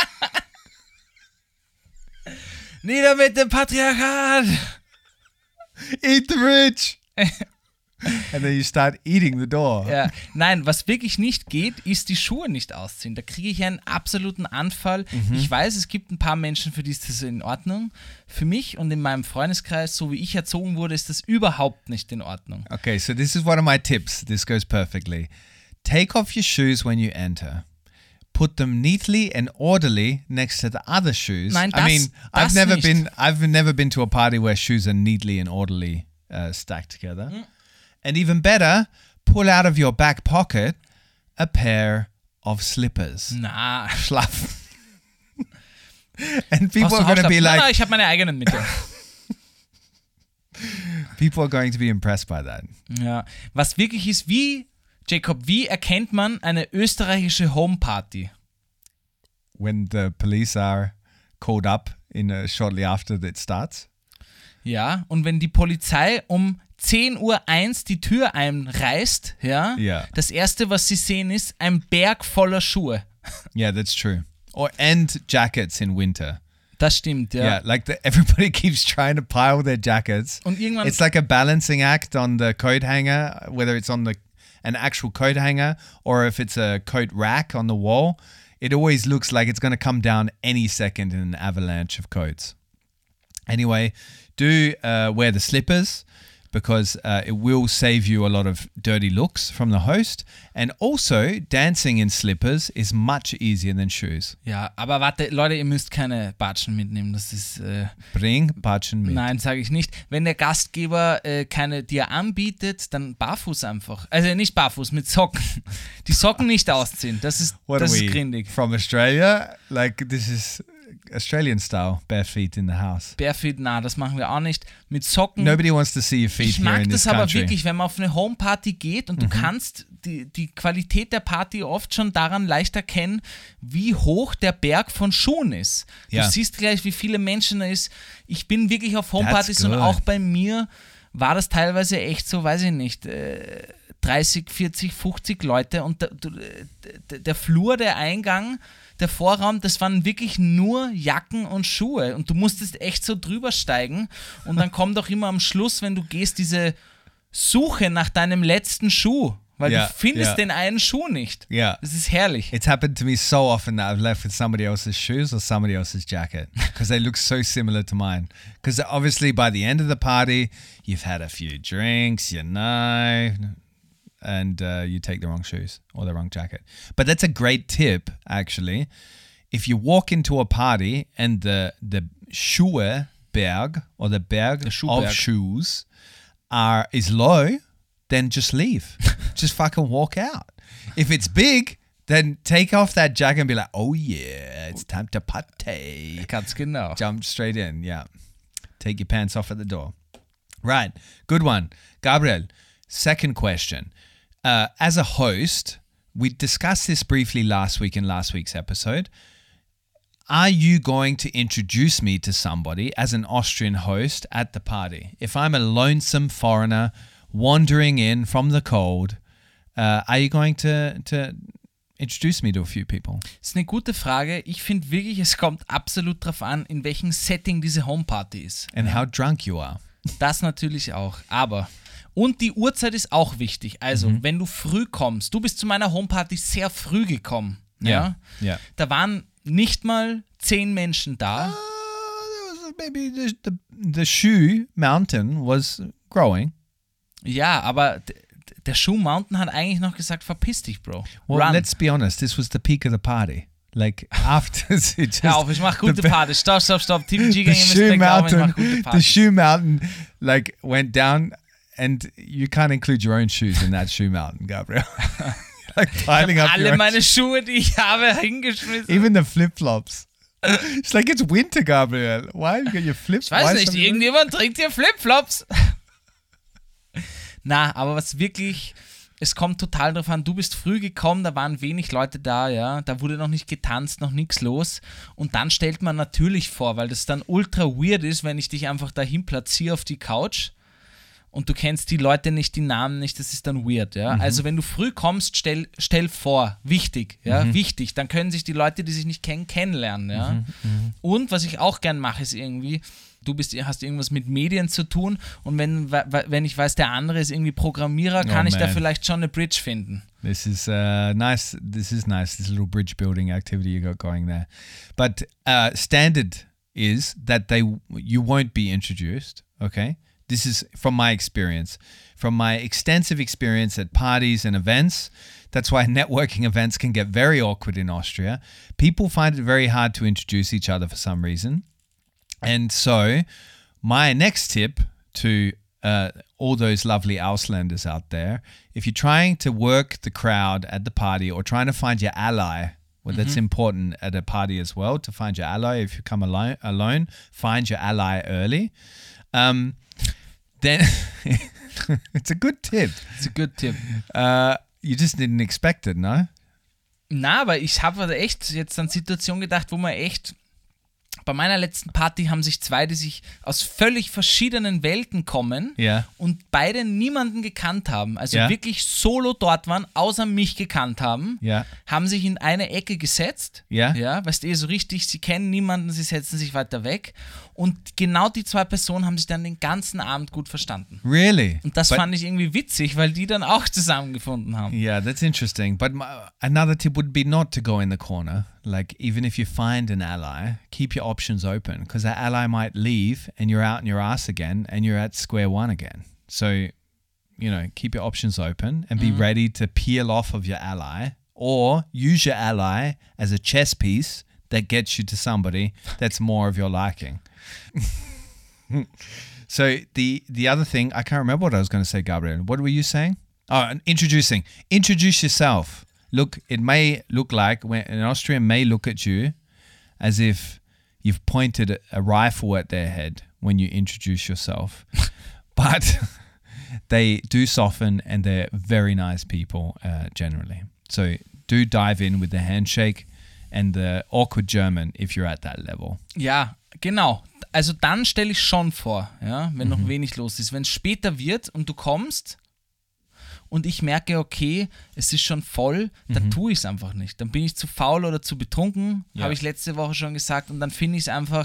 Nieder mit dem Patriarchat. Eat the rich. And then you start eating the door. Ja. Nein, was wirklich nicht geht, ist die Schuhe nicht ausziehen. Da kriege ich einen absoluten Anfall. Ich weiß, es gibt ein paar Menschen, für die ist das in Ordnung. Für mich und in meinem Freundeskreis, so wie ich erzogen wurde, ist das überhaupt nicht in Ordnung. Okay, so this is one of my tips. This goes perfectly. Take off your shoes when you enter. Put them neatly and orderly next to the other shoes. Nein, I've never been to a party where shoes are neatly and orderly stacked together. And even better, pull out of your back pocket a pair of slippers. Na. Schlaff. And people are going to be like... Na, ich habe meine eigenen mit. People are going to be impressed by that. Ja, was wirklich ist, Jacob, wie erkennt man eine österreichische Homeparty? When the police are called up shortly after it starts. Ja, und wenn die Polizei um 10:01 Uhr die Tür einreißt, das Erste, was sie sehen, ist ein Berg voller Schuhe. Yeah, that's true. And jackets in winter. Das stimmt, ja. Yeah, like everybody keeps trying to pile their jackets. Und irgendwann... It's like a balancing act on the coat hanger, whether it's on an actual coat hanger or if it's a coat rack on the wall. It always looks like it's going to come down any second in an avalanche of coats. Anyway, do wear the slippers because it will save you a lot of dirty looks from the host. And also, dancing in slippers is much easier than shoes. Ja, aber warte, Leute, ihr müsst keine Batschen mitnehmen. Das ist... Bring Batschen mit. Nein, sage ich nicht. Wenn der Gastgeber keine dir anbietet, dann barfuß einfach. Also nicht barfuß, mit Socken. Die Socken nicht ausziehen. Das ist grindig. From Australia? Like, this is... Australian style, bare feet in the house. Bare feet, das machen wir auch nicht. Mit Socken. Nobody wants to see your feet here in this country. Ich mag das aber wirklich, wenn man auf eine Homeparty geht und du kannst die Qualität der Party oft schon daran leicht erkennen, wie hoch der Berg von Schuhen ist. Du siehst gleich, wie viele Menschen da ist. Ich bin wirklich auf Homepartys und auch bei mir war das teilweise echt so, weiß ich nicht, 30, 40, 50 Leute und der Flur, der Eingang, der Vorraum, das waren wirklich nur Jacken und Schuhe und du musstest echt so drüber steigen und dann kommt auch immer am Schluss, wenn du gehst, diese Suche nach deinem letzten Schuh, weil Ja, du findest ja. den einen Schuh nicht. Yeah. Das ist herrlich. It's happened to me so often that I've left with somebody else's shoes or somebody else's jacket because they look so similar to mine. Because obviously by the end of the party, you've had a few drinks, you know, and you take the wrong shoes or the wrong jacket. But that's a great tip, actually. If you walk into a party and the Schuheberg or the Berg of Schuhberg. shoes is low, then just leave. Just fucking walk out. If it's big, then take off that jacket and be like, oh yeah, it's time to party. Ganz genau. Jump straight in, yeah. Take your pants off at the door. Right, good one. Gabriel, second question. As a host, we discussed this briefly last week in last week's episode. Are you going to introduce me to somebody as an Austrian host at the party? If I'm a lonesome foreigner wandering in from the cold, are you going to introduce me to a few people? Das ist eine gute Frage. Ich finde wirklich, es kommt absolut drauf an, in welchem Setting diese Homeparty ist. And how drunk you are. Das natürlich auch. Aber, und die Uhrzeit ist auch wichtig. Also, wenn du früh kommst, du bist zu meiner Homeparty sehr früh gekommen. Ja? Yeah. Da waren nicht mal 10 Menschen da. Maybe the shoe mountain was growing. Ja, aber der Shoe Mountain hat eigentlich noch gesagt, verpiss dich, Bro. Well, Run. let's be honest, this was the peak of the party. Like after it just Hör auf, ich mach gute Party. Stopp. TVG-Gänge the müssen shoe mir glauben, ich mach mountain, gute the Party. shoe mountain, like went down, and you can't include your own shoes in that shoe mountain, Gabriel. Like piling up your Alle own meine Schuhe, die ich habe, hingeschmissen. even the flip flops. It's like it's winter, Gabriel. Why have you got your flip? Ich weiß nicht, irgendjemand trinkt hier Flipflops. Na, aber was wirklich, es kommt total drauf an, du bist früh gekommen, da waren wenig Leute da, ja, da wurde noch nicht getanzt, noch nichts los und dann stellt man natürlich vor, weil das dann ultra weird ist, wenn ich dich einfach dahin platziere auf die Couch und du kennst die Leute nicht, die Namen nicht, das ist dann weird, ja. Also wenn du früh kommst, stell vor, wichtig, ja, wichtig, dann können sich die Leute, die sich nicht kennen, kennenlernen, ja. Und was ich auch gern mache, ist irgendwie, hast irgendwas mit Medien zu tun und wenn ich weiß, der andere ist irgendwie Programmierer, kann ich da man. vielleicht schon eine Bridge finden. This is nice. This is nice. This little bridge building activity you got going there. But standard is that you won't be introduced. Okay, this is from my experience, from my extensive experience at parties and events. That's why networking events can get very awkward in Austria. People find it very hard to introduce each other for some reason. And so, my next tip to all those lovely Ausländers out there, if you're trying to work the crowd at the party or trying to find your ally, well, that's important at a party as well, to find your ally. If you come alone, find your ally early. Then, it's a good tip. It's a good tip. You just didn't expect it, no? Na, aber ich habe echt jetzt an Situationen gedacht, wo man echt, bei meiner letzten Party haben sich zwei, die sich aus völlig verschiedenen Welten kommen Ja. und beide niemanden gekannt haben, also Ja. wirklich solo dort waren, außer mich gekannt haben, Ja. haben sich in eine Ecke gesetzt, Ja. weißt du, so richtig, sie kennen niemanden, sie setzen sich weiter weg und genau die zwei Personen haben sich dann den ganzen Abend gut verstanden. Really? Und das But- fand ich irgendwie witzig, weil die dann auch zusammengefunden haben. Yeah, that's interesting. But another tip would be not to go in the corner. Like, even if you find an ally, keep your options open because that ally might leave and you're out in your ass again and you're at square one again. So, keep your options open and be ready to peel off of your ally or use your ally as a chess piece that gets you to somebody that's more of your liking. So the other thing, I can't remember what I was going to say, Gabriel. What were you saying? Oh, and introducing. Introduce yourself. Look, it may look like when an Austrian may look at you as if you've pointed a rifle at their head when you introduce yourself, but they do soften and they're very nice people generally. So do dive in with the handshake and the awkward German if you're at that level. Ja, genau. Also dann stelle ich schon vor, ja, wenn noch wenig los ist. Wenn es später wird und du kommst und ich merke, okay, es ist schon voll, dann tue ich es einfach nicht. Dann bin ich zu faul oder zu betrunken, habe ich letzte Woche schon gesagt, und dann finde ich es einfach,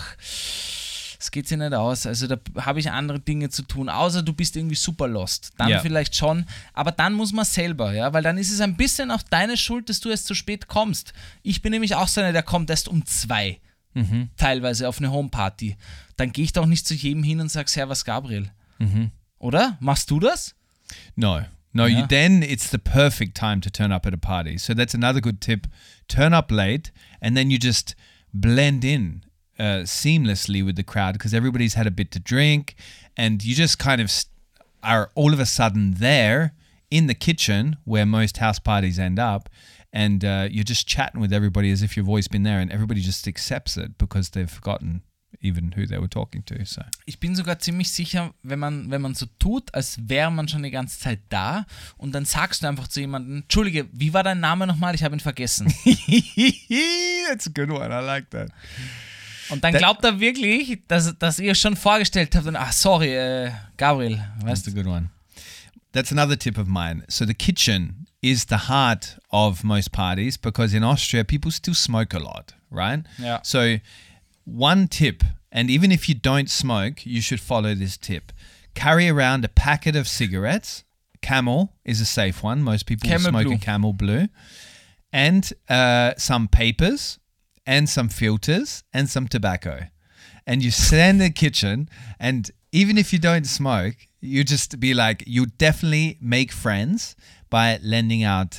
es geht sich nicht aus. Also da habe ich andere Dinge zu tun, außer du bist irgendwie super lost. Dann vielleicht schon, aber dann muss man selber, ja, weil dann ist es ein bisschen auch deine Schuld, dass du erst zu spät kommst. Ich bin nämlich auch so einer, der kommt erst um 2, teilweise auf eine Homeparty. Dann gehe ich doch nicht zu jedem hin und sage, Servus Gabriel. Oder? Machst du das? No, Yeah. then it's the perfect time to turn up at a party. So that's another good tip. Turn up late and then you just blend in seamlessly with the crowd because everybody's had a bit to drink and you just kind of are all of a sudden there in the kitchen where most house parties end up, and you're just chatting with everybody as if you've always been there, and everybody just accepts it because they've forgotten even who they were talking to. So. Ich bin sogar ziemlich sicher, wenn man so tut, als wäre man schon die ganze Zeit da, und dann sagst du einfach zu jemandem, Entschuldige, wie war dein Name nochmal? Ich habe ihn vergessen. That's a good one. I like that. Und dann glaubt er wirklich, dass ihr schon vorgestellt habt und, sorry, Gabriel, weißt That's a good one. That's another tip of mine. So the kitchen is the heart of most parties because in Austria, people still smoke a lot, right? Yeah. So one tip, and even if you don't smoke, you should follow this tip. Carry around a packet of cigarettes. Camel is a safe one. Most people Camel smoke Blue. a Camel Blue. And some papers and some filters and some tobacco. And you stand in the kitchen, and even if you don't smoke, you just be like, you definitely make friends by lending out,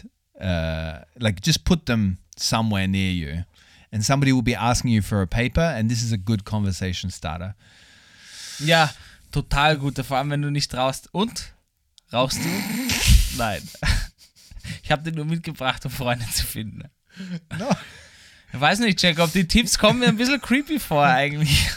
just put them somewhere near you. And somebody will be asking you for a paper, and this is a good conversation starter. Ja, total gut, vor allem wenn du nicht rauchst. Und? Rauchst du? Nein. Ich habe den nur mitgebracht, um Freunde zu finden. No. Ich weiß nicht, Jacob, die Tipps kommen mir ein bisschen creepy vor eigentlich.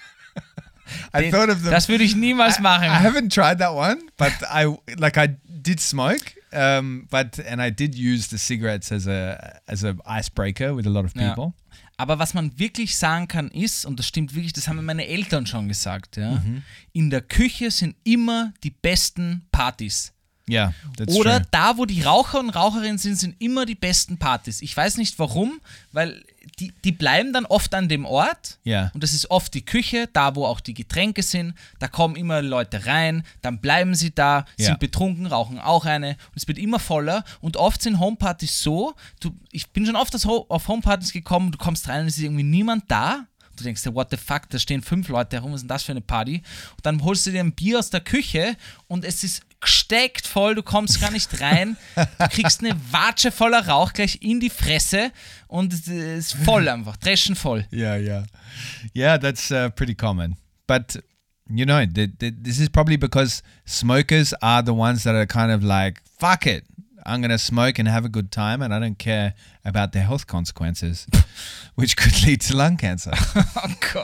I thought of them. Das würde ich niemals machen. I haven't tried that one, but I did smoke, and I did use the cigarettes as a icebreaker with a lot of people. Ja. Aber was man wirklich sagen kann ist, und das stimmt wirklich, das haben mir meine Eltern schon gesagt, ja, in der Küche sind immer die besten Partys. Yeah, that's Oder true. da, wo die Raucher und Raucherinnen sind immer die besten Partys. Ich weiß nicht warum, weil die bleiben dann oft an dem Ort. Ja. Und das ist oft die Küche, da wo auch die Getränke sind. Da kommen immer Leute rein, dann bleiben sie da, Ja. sind betrunken, rauchen auch eine. Und es wird immer voller. Und oft sind Homepartys so, ich bin schon oft auf Homepartys gekommen, du kommst rein und es ist irgendwie niemand da. Du denkst dir, what the fuck, da stehen 5 Leute herum, was ist denn das für eine Party? Und dann holst du dir ein Bier aus der Küche und es ist gesteckt voll, du kommst gar nicht rein, du kriegst eine Watsche voller Rauch gleich in die Fresse und es ist voll einfach, dreschenvoll. Yeah, that's pretty common. But, you know, this is probably because smokers are the ones that are kind of like, fuck it, I'm going to smoke and have a good time and I don't care about the health consequences, which could lead to lung cancer. Oh Gott.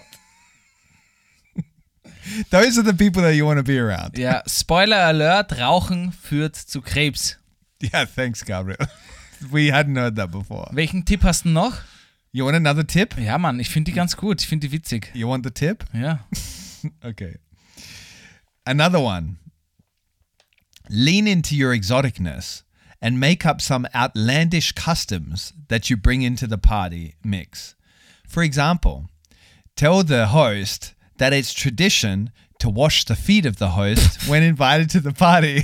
Those are the people that you want to be around. Ja, Spoiler Alert, Rauchen führt zu Krebs. Yeah, thanks, Gabriel. We hadn't heard that before. Welchen Tipp hast du noch? You want another tip? Ja, Mann, ich finde die ganz gut, ich finde die witzig. You want the tip? Ja. Okay. Another one. Lean into your exoticness and make up some outlandish customs that you bring into the party mix. For example, tell the host that it's tradition to wash the feet of the host when invited to the party.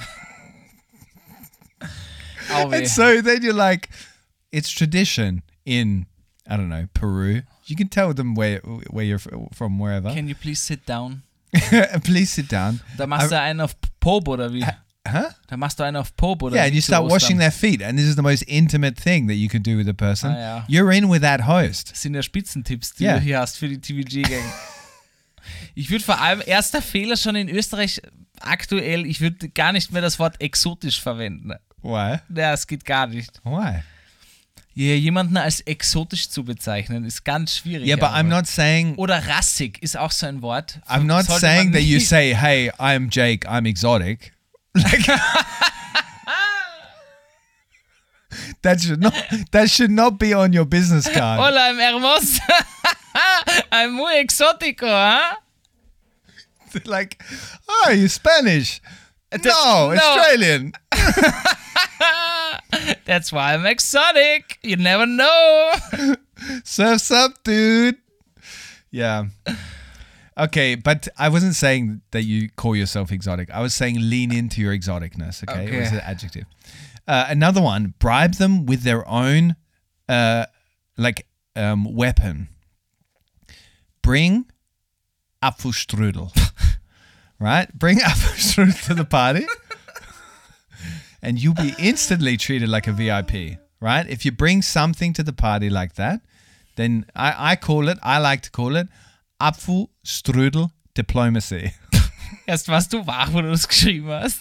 Au weh. And so then you're like, it's tradition in, I don't know, Peru. You can tell them where you're from, wherever. Can you please sit down? Please sit down. Da machst du einen auf Pob oder wie? Huh? Da machst du einen auf Pob oder Yeah, wie and you zu start Ostern? washing their feet. And this is the most intimate thing that you can do with a person. Ah, ja. You're in with that host. Das sind ja Spitzentipps, die Ja. du hier hast für die TVG-Gang. Ich würde vor allem, erster Fehler schon in Österreich aktuell, ich würde gar nicht mehr das Wort exotisch verwenden. Why? Ja, es geht gar nicht. Why? Ja, jemanden als exotisch zu bezeichnen, ist ganz schwierig. Yeah, but I'm einfach. not saying... Oder rassig ist auch so ein Wort. I'm not Sollte saying man that you nicht- say, hey, I'm Jake, I'm exotic. Like... That should not be on your business card. Hola, I'm hermoso. I'm muy exótico, huh? Like, oh, you're Spanish. No, Australian. That's why I'm exotic. You never know. Surf's up, dude. Yeah. Okay, but I wasn't saying that you call yourself exotic. I was saying lean into your exoticness, okay? It was an adjective. Another one, bribe them with their own weapon. Bring Apfelstrudel. Right? Bring Apfelstrudel to the party. And you'll be instantly treated like a VIP, right? If you bring something to the party like that, then I like to call it Apfelstrudel Diplomacy. Erst warst du wach, wo du das geschrieben hast.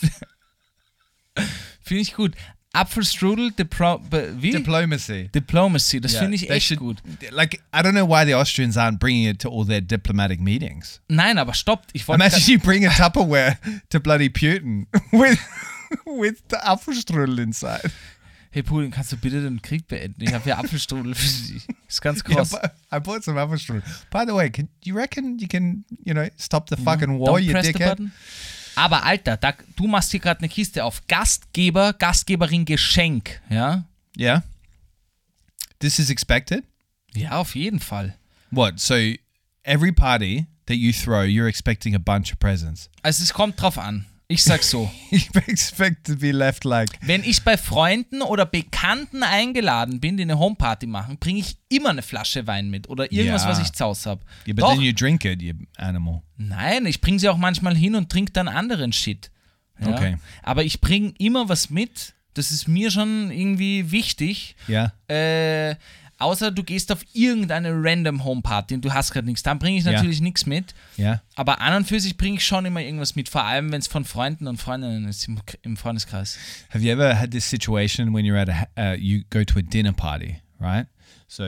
Finde ich gut. Apfelstrudel Diplomacy. Diplomacy, das Yeah, finde ich they echt should- gut. Like, I don't know why the Austrians aren't bringing it to all their diplomatic meetings. Nein, aber stoppt. Ich wollte Imagine you bring a Tupperware to bloody Putin with the Apfelstrudel inside. Hey Putin, kannst du bitte den Krieg beenden? Ich habe hier Apfelstrudel für dich. Ist ganz Yeah, krass. but I bought some Apfelstrudel. By the way, you reckon you can, stop the fucking war, Don't you press the dickhead? button. Aber Alter, du machst hier gerade eine Kiste auf. Gastgeber, Gastgeberin, Geschenk. Ja? Yeah. This is expected? Ja, auf jeden Fall. What? So every party that you throw, you're expecting a bunch of presents. Also es kommt drauf an. Ich sag so. You expect to be left like, Wenn ich bei Freunden oder Bekannten eingeladen bin, die eine Homeparty machen, bringe ich immer eine Flasche Wein mit oder irgendwas, Ja. was ich zaus habe. yeah, but then you drink it, you animal. Nein, ich bringe sie auch manchmal hin und trinke dann anderen Shit. Ja? Okay. Aber ich bringe immer was mit. Das ist mir schon irgendwie wichtig. Yeah. Außer du gehst auf irgendeine random Homeparty und du hast gerade nichts. Dann bringe ich Ja. natürlich nichts mit. Yeah. Aber an und für sich bringe ich schon immer irgendwas mit. Vor allem, wenn es von Freunden und Freundinnen ist im Freundeskreis. Have you ever had this situation when you're at you go to a dinner party, right? So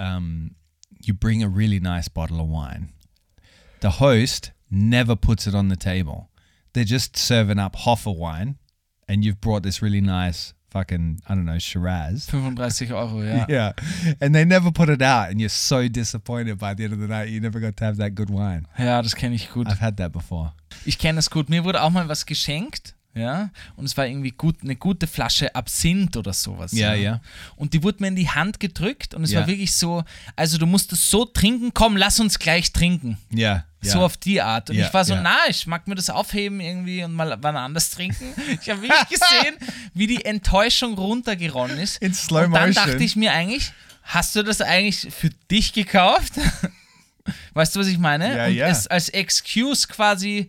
you bring a really nice bottle of wine. The host never puts it on the table. They're just serving up half a wine, and you've brought this really nice fucking, I don't know, Shiraz. 35 €, ja. Yeah. And they never put it out, and you're so disappointed by the end of the night. You never got to have that good wine. Ja, das kenne ich gut. I've had that before. Ich kenne das gut. Mir wurde auch mal was geschenkt, ja, und es war irgendwie eine gute Flasche Absinth oder sowas. Ja, ja. Und die wurde mir in die Hand gedrückt und es Ja. war wirklich so, also du musst es so trinken, komm, lass uns gleich trinken. Yeah. So auf die Art. Und Ja, ich war so, ja. ich mag mir das aufheben irgendwie und mal wann anders trinken. Ich habe wirklich gesehen, wie die Enttäuschung runtergeronnen ist. In slow und dann motion. dachte ich mir eigentlich, hast du das eigentlich für dich gekauft? Weißt du, was ich meine? Ja, und ja. es als Excuse quasi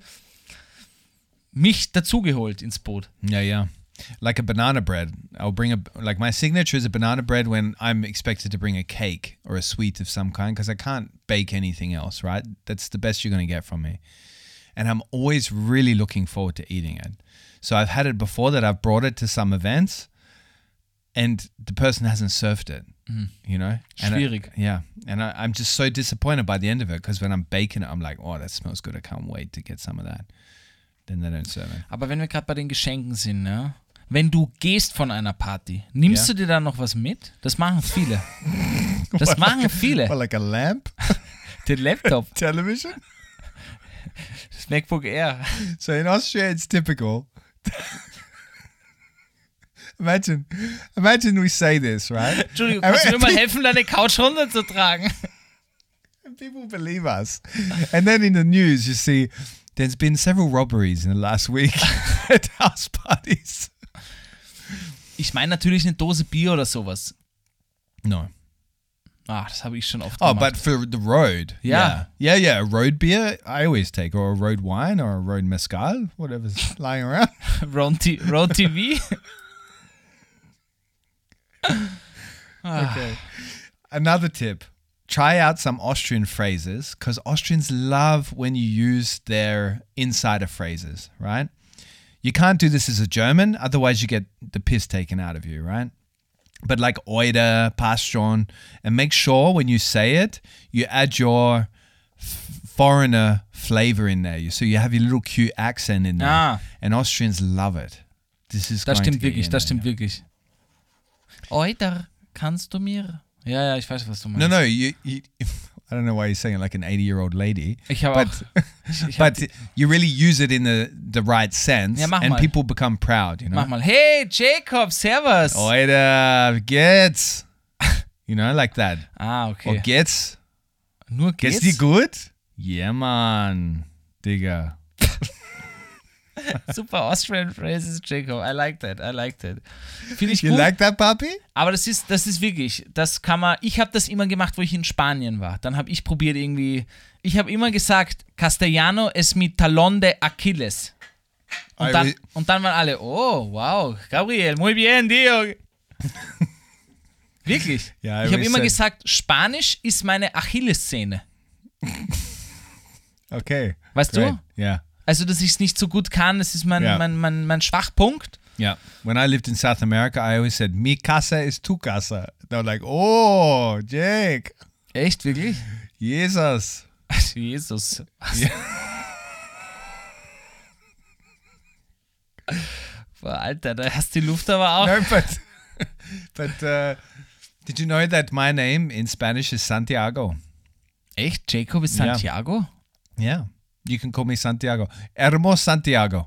mich dazugeholt ins Boot. Yeah. Like a banana bread. I'll bring like my signature is a banana bread when I'm expected to bring a cake or a sweet of some kind because I can't bake anything else, right? That's the best you're going to get from me. And I'm always really looking forward to eating it. So I've had it before that I've brought it to some events and the person hasn't served it, you know? And Schwierig. And I'm just so disappointed by the end of it because when I'm baking it, I'm like, oh, that smells good. I can't wait to get some of that. Then they don't serve it. Aber wenn wir gerade bei den Geschenken sind, ja, wenn du gehst von einer Party, nimmst Ja. du dir da noch was mit? Das machen viele. Das machen viele. Well, like a lamp, Den Laptop, television. das MacBook Air. So in Austria, it's typical. Imagine we say this, right? Entschuldigung, kannst du mir mal helfen, deine Couch runterzutragen? And people believe us. And then in the news, you see there's been several robberies in the last week at house parties. Ich meine natürlich eine Dose Bier oder sowas. No. Ah, das habe ich schon oft Oh, gemacht. but for the road. Yeah. Yeah. A road beer, I always take, or a road wine, or a road mezcal, whatever's lying around. Road TV. Okay. Another tip. Try out some Austrian phrases because Austrians love when you use their insider phrases, right? You can't do this as a German, otherwise you get the piss taken out of you, right? But like Oida, Passt schon, and make sure when you say it, you add your foreigner flavor in there. So you have your little cute accent in there. Ah. And Austrians love it. This is Das going to stimmt get wirklich, in das there, stimmt wirklich. Oida, kannst du mir? Ja, ich weiß, was du meinst. No, I I don't know why you're saying it like an 80-year-old lady. Ich habe But, ich hab but you really use it in the right sense, Ja, mach and mal. people become proud, you know? Mach mal. Hey, Jacob, servus. Oida, geht's? You know, like that. Ah, Or okay. geht's? Nur Geht's geht's? dir gut? Yeah, man. Digga. Super Austrian phrases, Jacob. I like that. Finde ich You gut. like that, Papi? Aber das ist wirklich, das kann man, ich habe das immer gemacht, wo ich in Spanien war. Dann habe ich probiert irgendwie, ich habe immer gesagt, Castellano es mi talón de Achilles. Und dann waren alle, oh, wow, Gabriel, muy bien, tío. Wirklich. Ja, ich habe immer said- gesagt, Spanisch ist meine Achillessehne. Okay. Weißt Great. du? Yeah. Also, dass ich es nicht so gut kann, das ist Ja. mein Schwachpunkt. Yeah. When I lived in South America, I always said, mi casa is tu casa. They were like, oh, Jake. Echt, wirklich? Jesus. Jesus. Boah, Alter, da hast du die Luft aber auch. No, but did you know that my name in Spanish is Santiago? Echt? Jacob ist Ja. Santiago? Yeah. You can call me Santiago. Hermos Santiago.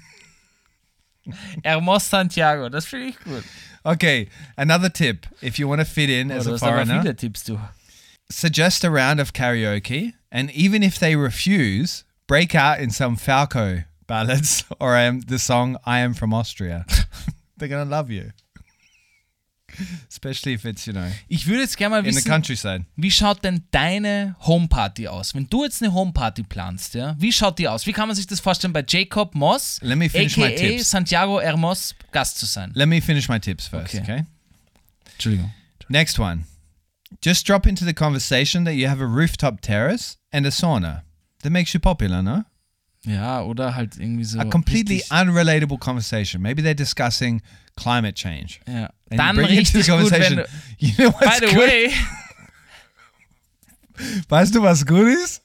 Hermos Santiago, das finde ich gut. Okay, another tip. If you want to fit in as Du a hast aber foreigner, viele Tipps, du. suggest a round of karaoke, and even if they refuse, break out in some Falco ballads or the song I Am From Austria. They're going to love you. Especially if it's, Ich würde jetzt gerne mal in the wissen, countryside. wie schaut denn deine Homeparty aus? Wenn du jetzt eine Homeparty planst, ja, wie schaut die aus? Wie kann man sich das vorstellen, bei Jacob Moss, Let me finish my a.k.a. tips. Santiago Hermos, Gast zu sein? Let me finish my tips first, Okay. okay? Entschuldigung. Next one. Just drop into the conversation that you have a rooftop terrace and a sauna. That makes you popular, no? Ja, oder halt irgendwie so. A completely richtig, unrelatable conversation. Maybe they're discussing climate change. ja. And Dann you bring it to richtig the gut, wenn conversation. du, You know what's by the good? way, Weißt du, was gut ist?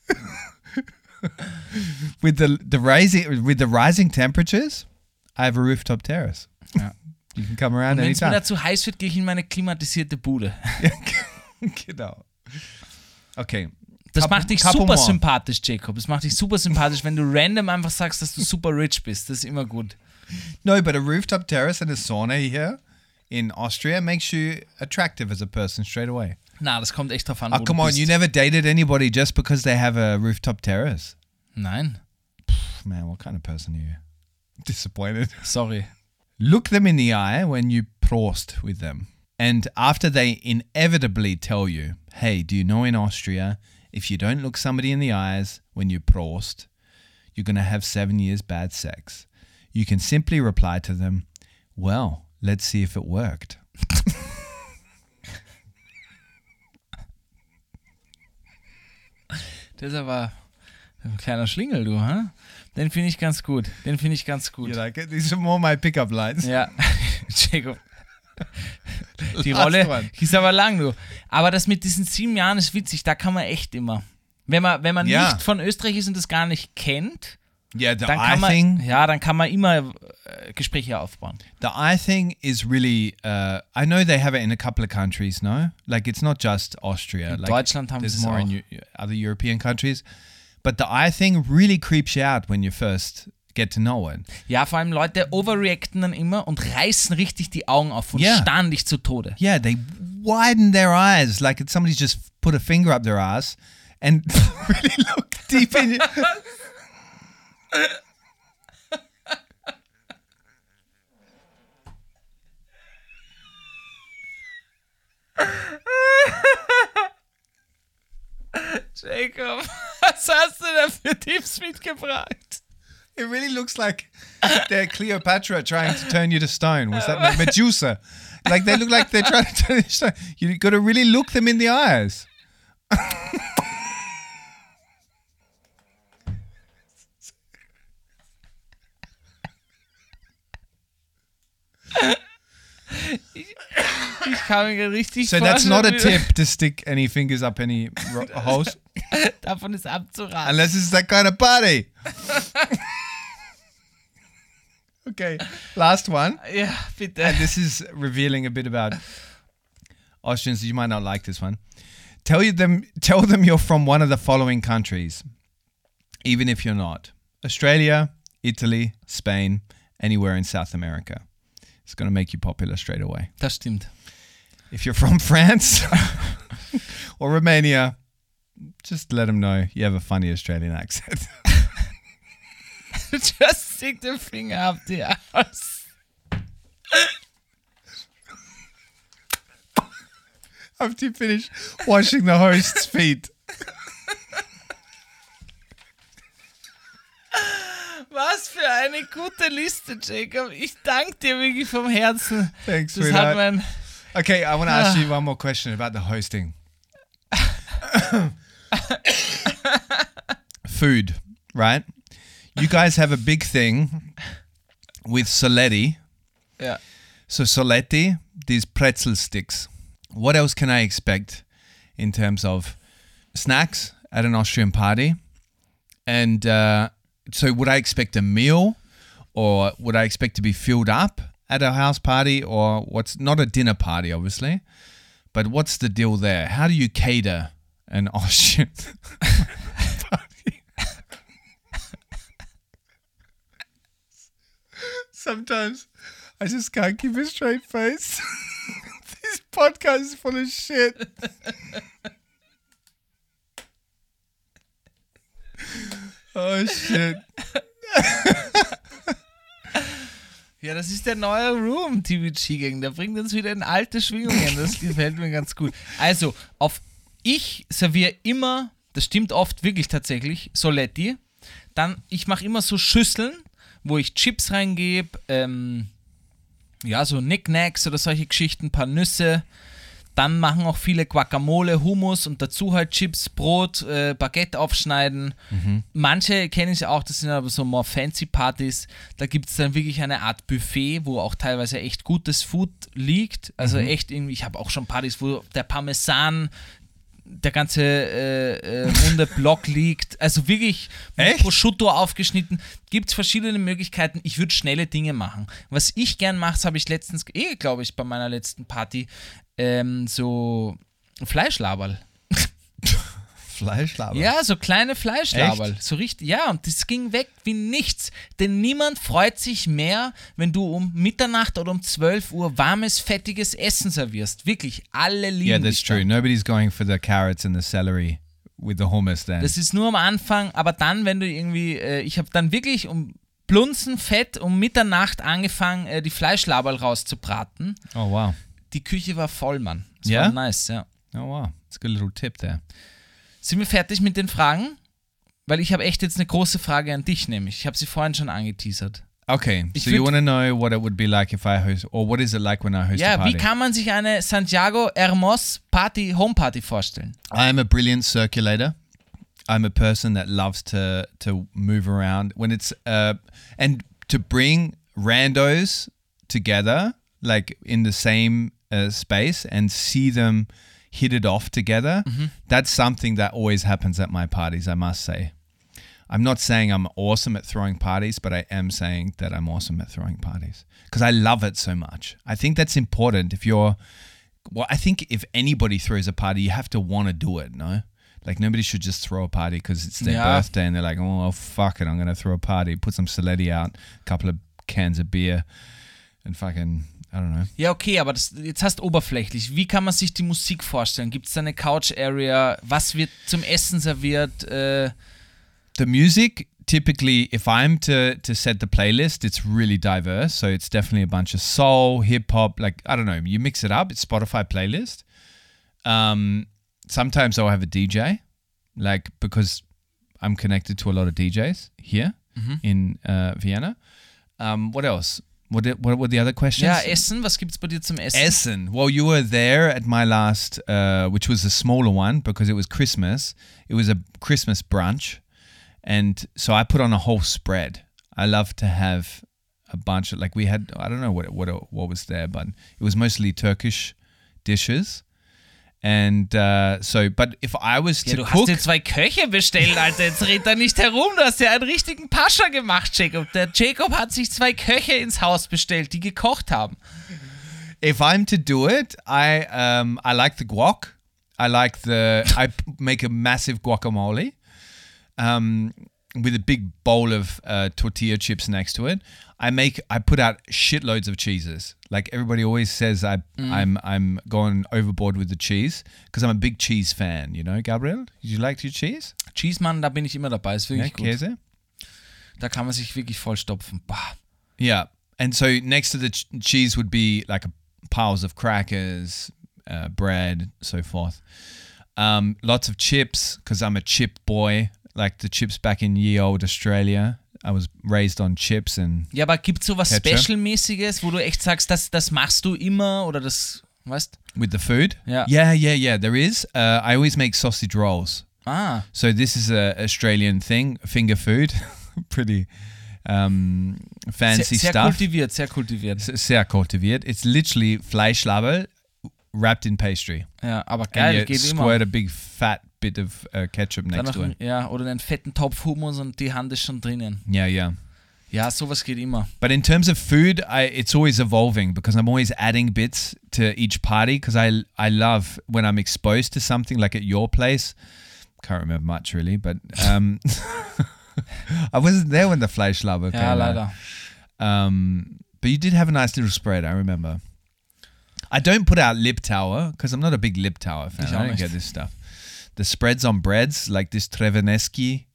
with the rising temperatures, I have a rooftop terrace. Ja. You can come around wenn es mir anytime. da zu heiß wird, gehe ich in meine klimatisierte Bude. Genau. Okay. Das Couple- macht dich couple super more. sympathisch, Jacob. Das macht dich super sympathisch, wenn du random einfach sagst, dass du super rich bist. Das ist immer gut. No, but a rooftop terrace and a sauna here in Austria makes you attractive as a person straight away. Na, das kommt echt drauf an, Oh, wo come du on. bist. You never dated anybody just because they have a rooftop terrace? Nein, Man, what kind of person are you? Disappointed. sorry. Look them in the eye when you prost with them. And after they inevitably tell you, hey, do you know in Austria, if you don't look somebody in the eyes when you prost, you're going to have 7 years bad sex. You can simply reply to them, well, let's see if it worked. Das ist aber ein kleiner Schlingel, du, hä? Den finde ich ganz gut. You like it? These are more my pickup lines. Ja, Jacob. Die Last Rolle one. ist aber lang, du. Aber das mit diesen 7 Jahren ist witzig, da kann man echt immer. Wenn man Ja. nicht von Österreich ist und das gar nicht kennt, Yeah, the dann eye kann man, thing. ja, dann kann man immer Gespräche aufbauen. The eye thing is really, I know they have it in a couple of countries, no? Like it's not just Austria. In Like, Deutschland haben there's sie es more auch. in other European countries. But the eye thing really creeps you out when you first get to know it. Ja, vor allem Leute overreacten dann immer und reißen richtig die Augen auf und Ja. starren dich zu Tode. Yeah, they widen their eyes like it's somebody's just put a finger up their ass and really look deep in you. Jacob, was hast du da für Tipps mitgebracht? It really looks like they're Cleopatra trying to turn you to stone. Was that Medusa? Like they look like they're trying to turn you to stone. You got to really look them in the eyes. Ich kann mir richtig So that's not a vorstellen, tip to stick any fingers up any holes, davon ist abzuraten. unless it's that kind of party. Okay, last one. Ja, bitte. And this is revealing a bit about Austrians. You might not like this one. Tell them you're from one of the following countries, even if you're not. Australia, Italy, Spain, anywhere in South America. It's going to make you popular straight away. Das stimmt. If you're from France or Romania, just let them know you have a funny Australian accent. Just stick the finger up the ass. After you finish washing the host's feet. Was für eine gute Liste, Jacob. Ich danke dir wirklich vom Herzen. Thanks, Das sweetheart. hat mein... Okay, I want to ask you one more question about the hosting. Food, right? You guys have a big thing with Soletti. Ja. So Soletti, these pretzel sticks. What else can I expect in terms of snacks at an Austrian party? And so would I expect a meal, or would I expect to be filled up at a house party, or what's not a dinner party, obviously, but what's the deal there? How do you cater an Austrian party? Sometimes I just can't keep a straight face. This podcast is full of shit. Oh shit. Ja, das ist der neue Room, TVG-Gang. Der bringt uns wieder in alte Schwingungen. Das gefällt mir ganz gut. Also, ich serviere immer, das stimmt oft wirklich tatsächlich, Soletti. Dann, ich mache immer so Schüsseln, wo ich Chips reingebe, so Knickknacks oder solche Geschichten, ein paar Nüsse. Dann machen auch viele Guacamole, Hummus und dazu halt Chips, Brot, Baguette aufschneiden. Manche kenne ich auch, das sind aber so more fancy Partys. Da gibt es dann wirklich eine Art Buffet, wo auch teilweise echt gutes Food liegt. Also echt irgendwie, ich habe auch schon Partys, wo der Parmesan, der ganze runde Block liegt. Also wirklich mit Prosciutto aufgeschnitten. Gibt es verschiedene Möglichkeiten. Ich würde schnelle Dinge machen. Was ich gern mache, das habe ich letztens, glaube ich, bei meiner letzten Party, so Fleischlaberl. Fleischlaberl? Ja, so kleine Fleischlaberl. So richtig, ja, und das ging weg wie nichts. Denn niemand freut sich mehr, wenn du um Mitternacht oder um 12 Uhr warmes, fettiges Essen servierst. Wirklich, alle lieben Yeah, that's dich true. dann. Nobody's going for the carrots and the celery with the hummus then. Das ist nur am Anfang, aber dann, wenn du irgendwie, ich habe dann wirklich um Blunzenfett um Mitternacht angefangen, die Fleischlaberl rauszubraten. Oh, wow. Die Küche war voll, Mann. Das Ja? war nice, ja. Oh, wow. That's a good little tip there. Sind wir fertig mit den Fragen? Weil ich habe echt jetzt eine große Frage an dich, nämlich. Ich habe sie vorhin schon angeteasert. Okay, Ich so you würd- want to know what it would be like if I host, or what is it like when I host a Ja, party? wie kann man sich eine Santiago Hermos Party, Homeparty vorstellen? I'm a brilliant circulator. I'm a person that loves to move around when it's and to bring randos together, like in the same space, and see them hit it off together. That's something that always happens at my parties, I must say. I'm not saying I'm awesome at throwing parties, but I am saying that I'm awesome at throwing parties because I love it so much. I think that's important. I think if anybody throws a party, you have to want to do it, no? Like, nobody should just throw a party because it's their Yeah. birthday and they're like, oh, fuck it, I'm going to throw a party. Put some Soletti out, a couple of cans of beer and fucking, I don't know. Ja, okay, aber jetzt hast du oberflächlich. Wie kann man sich die Musik vorstellen? Gibt es da eine Couch-Area? Was wird zum Essen serviert? The music, typically, if I'm to set the playlist, it's really diverse. So it's definitely a bunch of soul, hip-hop, like, I don't know, you mix it up. It's Spotify playlist. Sometimes I'll have a DJ, like, because I'm connected to a lot of DJs here in Vienna. What else? What were the other questions? Ja, Essen. Was gibt's bei dir zum Essen? Essen. Well, you were there at my last, which was a smaller one because it was Christmas. It was a Christmas brunch. And so I put on a whole spread. I love to have a bunch of, like, we had, I don't know what was there, but it was mostly Turkish dishes. And but if I was Ja, to du hast cook, dir 2 Köche bestellt, Alter. Jetzt red da nicht herum. Du hast ja einen richtigen Pascha gemacht, Jacob. Der Jacob hat sich 2 Köche ins Haus bestellt, die gekocht haben. if I'm to do it, I like the guac. I make a massive guacamole with a big bowl of tortilla chips next to it. I put out shitloads of cheeses. Like everybody always says, I'm going overboard with the cheese because I'm a big cheese fan. You know, Gabriel, you like your cheese? Cheese, Mann, da bin ich immer dabei. Ist wirklich gut. Käse. Da kann man sich wirklich vollstopfen. Bah. Yeah, and so next to the cheese would be like piles of crackers, bread, so forth. Lots of chips because I'm a chip boy. Like the chips back in ye old Australia. I was raised on chips and Ja, aber gibt es sowas Ketchup. Special-mäßiges, wo du echt sagst, das machst du immer oder das, weißt? with the food. Yeah. Yeah. There is. I always make sausage rolls. Ah, So this is a Australian thing, finger food. Pretty fancy sehr stuff. sehr kultiviert. Sehr kultiviert. It's literally Fleischlaberl wrapped in pastry. Ja, aber And geil, you geht squirt immer. a big fat bit of ketchup Dann next noch, to it. ja, oder einen fetten Topf Hummus und die Hand ist schon drinnen. Yeah. Ja, sowas geht immer. But in terms of food, it's always evolving because I'm always adding bits to each party because I love when I'm exposed to something like at your place. Can't remember much really, but I wasn't there when the Fleischlaber came Ja, out. leider. But you did have a nice little spread, I remember. I don't put out Liptauer because I'm not a big Liptauer fan. Ich I auch don't nicht. get this stuff. The spreads on breads, like this Treveneski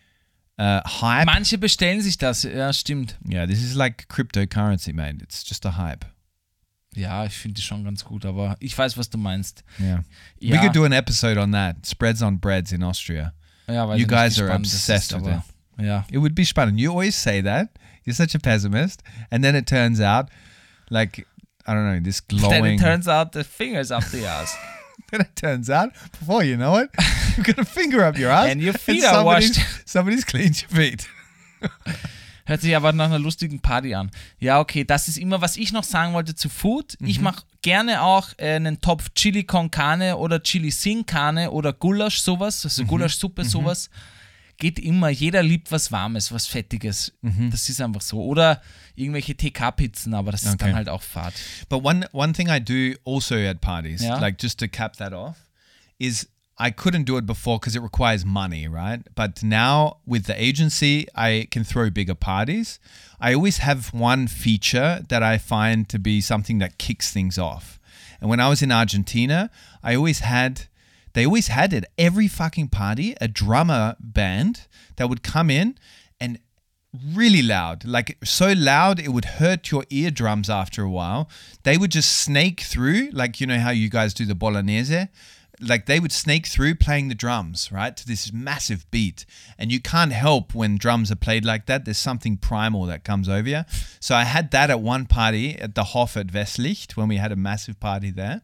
hype. Manche bestellen sich das, ja, stimmt. Yeah, this is like cryptocurrency, mate. It's just a hype. Ja, ich finde die schon ganz gut, aber ich weiß, was du meinst. Yeah. Ja, We could do an episode on that. Spreads on breads in Austria. ja, weiß You ich guys nicht, wie are spannend das obsessed ist, with aber, ja. It would be spannend. You always say that. You're such a pessimist. And then it turns out, like, I don't know, this Then glowing. it turns out the fingers up the ass. Then it turns out, before you know it, you've got a finger up your ass. And your feet are washed. Somebody's cleaned your feet. Hört sich aber nach einer lustigen Party an. Ja, okay, das ist immer, was ich noch sagen wollte zu Food. Ich mache gerne auch einen Topf Chili con Carne oder Chili sin Carne oder Gulasch, sowas, also Gulaschsuppe, sowas. Geht immer. Jeder liebt was Warmes, was Fettiges. Das ist einfach so. Oder irgendwelche TK-Pizzen, aber das ist Okay. dann halt auch Fad. But one thing I do also at parties, Yeah. like just to cap that off, is I couldn't do it before because it requires money, right? But now with the agency, I can throw bigger parties. I always have one feature that I find to be something that kicks things off. And when I was in Argentina, they always had at every fucking party a drummer band that would come in and really loud, like so loud it would hurt your eardrums after a while. They would just snake through, like, you know how you guys do the bolognese? Like they would snake through playing the drums, right, to this massive beat. And you can't help when drums are played like that. There's something primal that comes over you. So I had that at one party at the Hof at Westlicht when we had a massive party there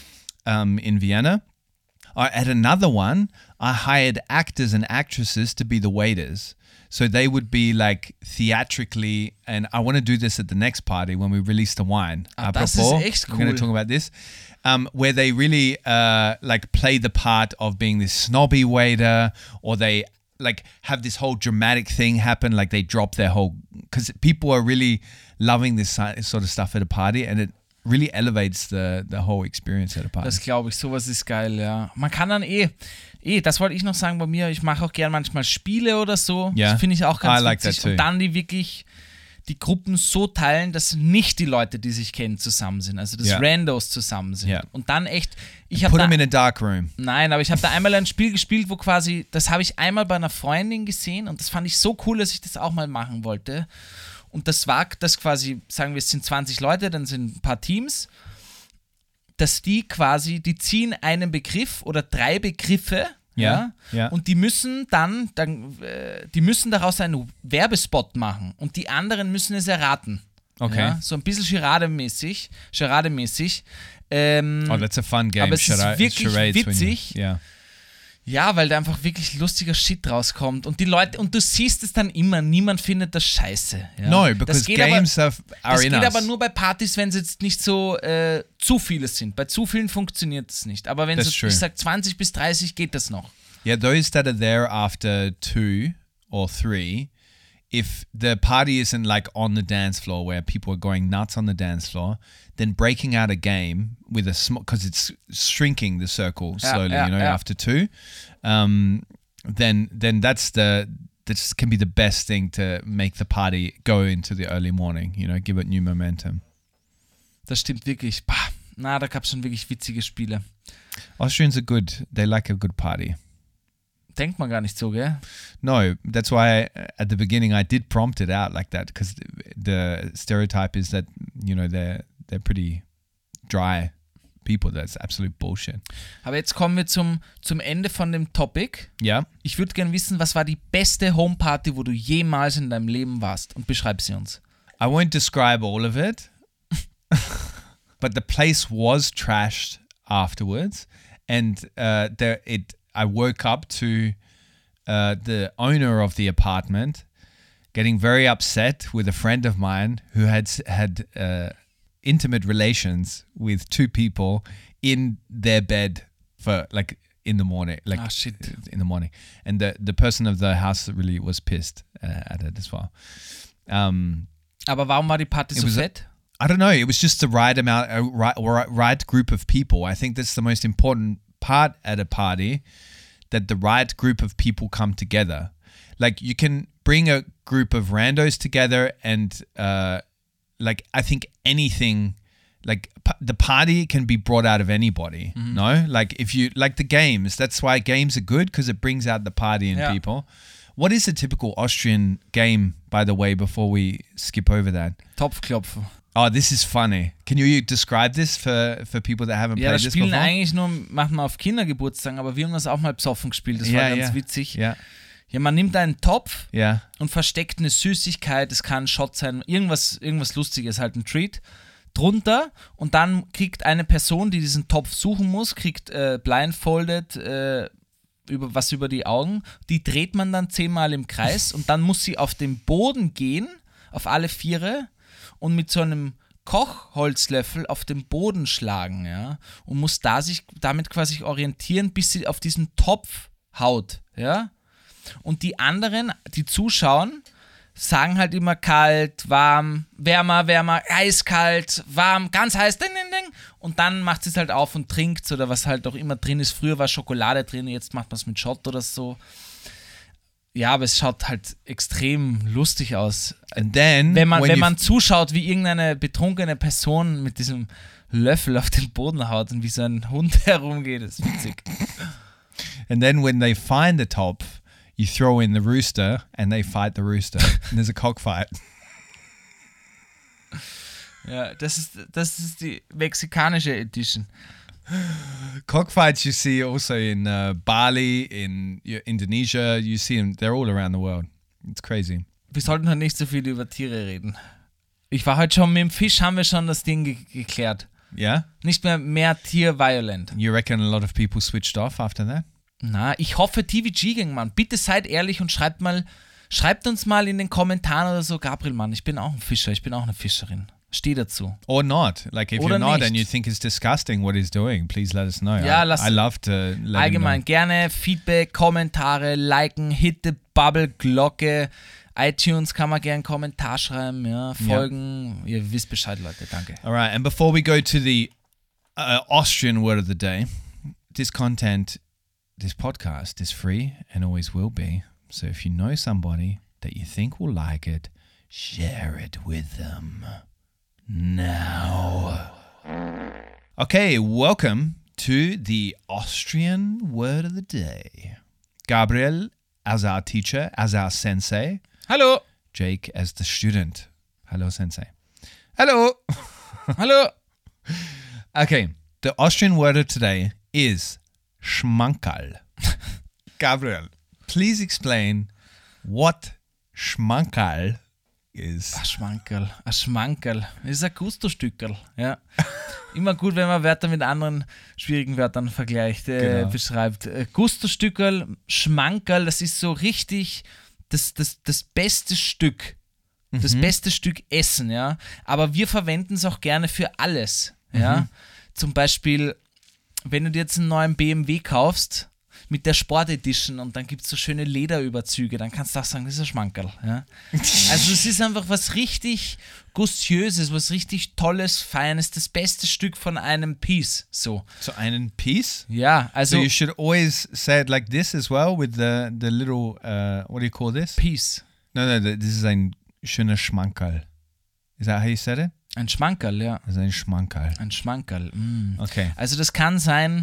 in Vienna. At another one, I hired actors and actresses to be the waiters. So they would be like theatrically, and I want to do this at the next party when we release the wine. Das ist echt we're going cool. to talk about this. Where they really like play the part of being this snobby waiter, or they like have this whole dramatic thing happen, like they drop their whole, because people are really loving this sort of stuff at a party, and it really elevates the whole experience at a party. Das glaube ich, sowas ist geil, ja. Man kann dann das wollte ich noch sagen bei mir, ich mache auch gern manchmal Spiele oder so. Ja. Das finde ich auch ganz I like witzig. that too. Und dann die wirklich die Gruppen so teilen, dass nicht die Leute, die sich kennen, zusammen sind. Also dass Ja. Randos zusammen sind. Ja. Und dann echt, ich Put habe them da, in a dark room. nein, aber ich habe da einmal ein Spiel gespielt, wo quasi, das habe ich einmal bei einer Freundin gesehen und das fand ich so cool, dass ich das auch mal machen wollte. Und das war das quasi, sagen wir, es sind 20 Leute, dann sind ein paar Teams, dass die quasi, die ziehen einen Begriff oder 3 Begriffe, Ja, ja. und die müssen dann die müssen daraus einen Werbespot machen und die anderen müssen es erraten. Okay. Ja, so ein bisschen Charade-mäßig. Oh, that's a fun game. aber es ist wirklich Charades when you- witzig. yeah. Ja, weil da einfach wirklich lustiger Shit rauskommt und die Leute, und du siehst es dann immer, niemand findet das scheiße. Ja. No, Das because geht games are Das in geht us. aber nur bei Partys, wenn es jetzt nicht so zu viele sind. Bei zu vielen funktioniert es nicht. Aber wenn That's so, true. ich sag 20 bis 30 geht das noch. Yeah, those that are there after 2 or 3, if the party isn't like on the dance floor where people are going nuts on the dance floor, then breaking out a game with a small, because it's shrinking the circle slowly, after two, then this can be the best thing to make the party go into the early morning, give it new momentum. Das stimmt wirklich. Da gab es schon wirklich witzige Spiele. Austrians are good. They like a good party. Denkt man gar nicht so, gell? No, that's why at the beginning I did prompt it out like that, because the stereotype is that, they're pretty dry people. That's absolute bullshit. Aber jetzt kommen wir zum Ende von dem Topic. Ja. Ich würde gerne wissen, was war die beste Homeparty, wo du jemals in deinem Leben warst? Und beschreib sie uns. I won't describe all of it, but the place was trashed afterwards, and I woke up to the owner of the apartment getting very upset with a friend of mine who had intimate relations with two people in their bed for in the morning, in the morning, and the person of the house really was pissed at it as well. Aber warum war die Party so fett? I don't know. It was just the right amount, right group of people. I think that's the most important part at a party, that the right group of people come together. Like, you can bring a group of randos together and I think anything, the party can be brought out of anybody. Mm-hmm. No? Like, if you like the games, that's why games are good, because it brings out the party in people. What is a typical Austrian game, by the way, before we skip over that? Topfklopfen. Oh, this is funny. Can you describe this for people that haven't played this before? Ja, das spielen eigentlich nur manchmal auf Kindergeburtstagen, aber wir haben das auch mal besoffen gespielt. Das war ganz witzig. Ja. Ja, man nimmt einen Topf und versteckt eine Süßigkeit, es kann ein Shot sein, irgendwas Lustiges, halt ein Treat, drunter, und dann kriegt eine Person, die diesen Topf suchen muss, kriegt blindfolded über die Augen, die dreht man dann 10-mal im Kreis und dann muss sie auf den Boden gehen, auf alle Viere, und mit so einem Kochholzlöffel auf den Boden schlagen, ja, und muss sich damit quasi orientieren, bis sie auf diesen Topf haut, ja. Und die anderen, die zuschauen, sagen halt immer kalt, warm, wärmer, eiskalt, warm, ganz heiß, ding, ding, ding. Und dann macht sie es halt auf und trinkt, oder was halt auch immer drin ist. Früher war Schokolade drin, jetzt macht man es mit Shot oder so. Ja, aber es schaut halt extrem lustig aus. And then, wenn man zuschaut, wie irgendeine betrunkene Person mit diesem Löffel auf den Boden haut und wie so ein Hund herumgeht, ist witzig. And then when they find the Topf, you throw in the rooster and they fight the rooster. And there's a cockfight. Ja, das ist die mexikanische Edition. Cockfights you see also in Bali, in Indonesia. You see them, they're all around the world. It's crazy. Wir sollten halt nicht so viel über Tiere reden. Ich war heute schon mit dem Fisch, haben wir schon das Ding geklärt. Yeah? Nicht mehr Tier-violent. You reckon a lot of people switched off after that? Na, ich hoffe, TVG ging, Mann. Bitte seid ehrlich und schreibt uns mal in den Kommentaren oder so, Gabriel, Mann, ich bin auch ein Fischer, ich bin auch eine Fischerin. Steh dazu. Or not. Like, if oder you're not nicht. And you think it's disgusting what he's doing, please let us know. Ja, I love to let allgemein gerne Feedback, Kommentare, liken, hit the Bubble, Glocke, iTunes kann man gerne einen Kommentar schreiben, ja, folgen. Ja. Ihr wisst Bescheid, Leute. Danke. All right, and before we go to the Austrian word of the day, this podcast is free and always will be. So if you know somebody that you think will like it, share it with them now. Okay, welcome to the Austrian word of the day. Gabriel as our teacher, as our sensei. Hallo. Jake as the student. Hello, sensei. Hello. Hallo. Okay, the Austrian word of today is Schmankerl. Gabriel, please explain what Schmankerl is. Ein Schmankerl. Das ist ein Gusto-Stückerl. Ja. Immer gut, wenn man Wörter mit anderen schwierigen Wörtern vergleicht, beschreibt. Gusto-Stückerl, Schmankerl, das ist so richtig das beste Stück. Das beste Stück Essen, ja. Aber wir verwenden es auch gerne für alles, ja. Zum Beispiel, wenn du dir jetzt einen neuen BMW kaufst, mit der Sport-Edition und dann gibt es so schöne Lederüberzüge, dann kannst du auch sagen, das ist ein Schmankerl. Ja? Also es ist einfach was richtig Gustiöses, was richtig Tolles, Feines, das beste Stück von einem Piece. So einen Piece? Ja, also So you should always say it like this as well, with the little, what do you call this? Piece. No, this is ein schöner Schmankerl. Is that how you said it? Ein Schmankerl, ja. Das ist ein Schmankerl. Ein Schmankerl. Okay. Also das kann sein,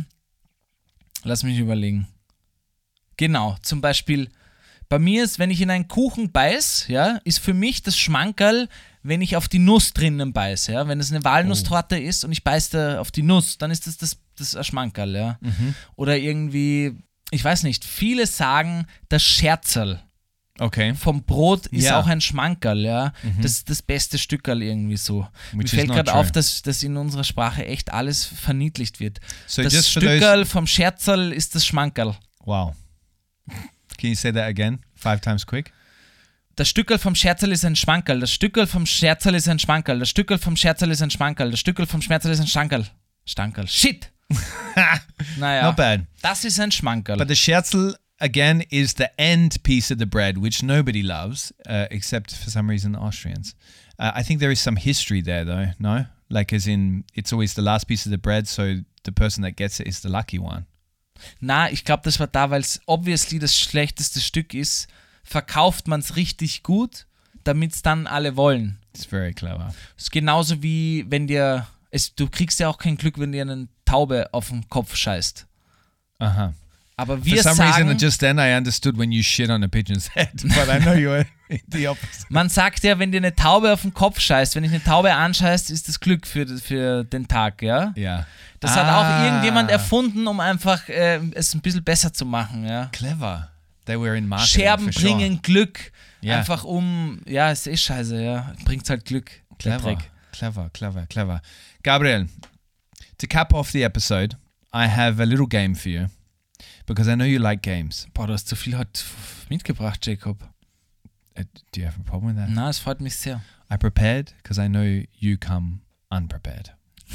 lass mich überlegen. Genau, zum Beispiel, bei mir ist, wenn ich in einen Kuchen beiß, ja, ist für mich das Schmankerl, wenn ich auf die Nuss drinnen beiße, ja. Wenn es eine Walnusstorte ist und ich beiß da auf die Nuss, dann ist das ein Schmankerl, ja. Oder irgendwie, ich weiß nicht, viele sagen, das Scherzerl Okay. vom Brot ist Ja. auch ein Schmankerl, ja. Das ist das beste Stückerl irgendwie so. Mir Which is fällt not gerade true. auf, dass in unserer Sprache echt alles verniedlicht wird. So Das just for Stückerl vom Scherzerl ist das Schmankerl. Wow. Can you say that again? 5 times quick? Das Stückerl vom Scherzerl ist ein Schmankerl. Das Stückerl vom Scherzerl ist ein Schmankerl. Das Stückerl vom Scherzerl ist ein Schmankerl. Das Stückerl vom Scherzerl ist ein Stankerl. Stankerl. Shit! Naja, Not bad. das ist ein Schmankerl. But the Scherzel, again, is the end piece of the bread, which nobody loves, except for some reason Austrians. I think there is some history there, though, no? Like, as in, it's always the last piece of the bread, so the person that gets it is the lucky one. Na, ich glaube, das war da, weil es obviously das schlechteste Stück ist, verkauft man es richtig gut, damit es dann alle wollen. It's very clever. Das ist genauso wie, wenn du kriegst ja auch kein Glück, wenn dir eine Taube auf den Kopf scheißt. Uh-huh. Aber For wir some sagen, reason, just then I understood when you shit on a pigeon's head, but I know you were the opposite. man sagt ja, wenn dir eine Taube auf den Kopf scheißt, wenn dich eine Taube anscheißt, ist das Glück für den Tag, ja? Yeah. Das hat auch irgendjemand erfunden, um einfach es ein bisschen besser zu machen, ja? Clever. They were in marketing, Scherben for sure. bringen Glück, Ja. einfach ja, ist eh scheiße, ja, bringt halt Glück. der Clever, Dreck. clever. Gabriel, to cap off the episode, I have a little game for you, because I know you like games. Boah, du hast zu viel heute mitgebracht, Jacob. Do you have a problem with that? Na, es freut mich sehr. I prepared because I know you come unprepared.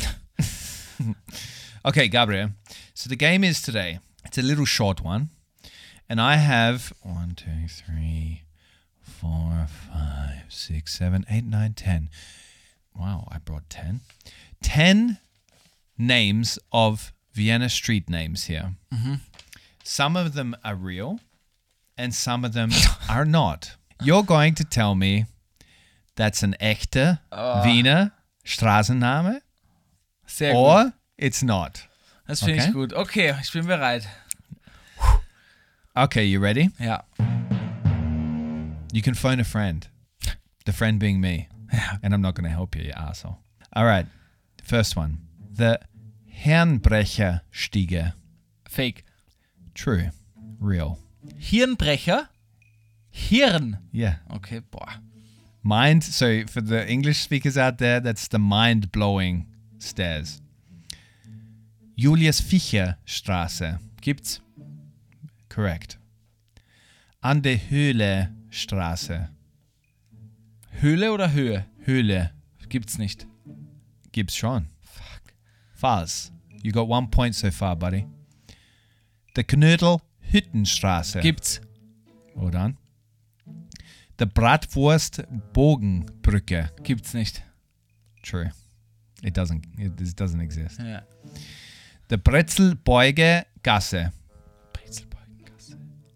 Okay, Gabriel. So the game is today. It's a little short one. And I have 1, 2, 3, 4, 5, 6, 7, 8, 9, 10. Wow, I brought 10. 10 names of Vienna street names here. Some of them are real and some of them are not. You're going to tell me that's an echter Wiener Straßenname Sehr gut. or it's not. Das finde Okay. ich gut. Okay, ich bin bereit. Okay, you ready? Ja. You can phone a friend. The friend being me. And I'm not going to help you, you asshole. All right. First one. The Herrenbrecherstiege. Fake. True. Real. Hirnbrecher? Hirn. Yeah. Okay, boah. Mind. So for the English speakers out there, that's the mind-blowing stairs. Julius Fischer Straße. Gibt's. Correct. An der Höhle Straße. Höhle oder Höhe? Höhle. Gibt's nicht. Gibt's schon. Fuck. False. You got 1 point so far, buddy. The Knödel Hüttenstraße. Gibt's. Hold on. The Bratwurst Bogenbrücke. Gibt's nicht. True. It doesn't exist. Ja. The Brezelbeuge Gasse. Brezelbeugengasse.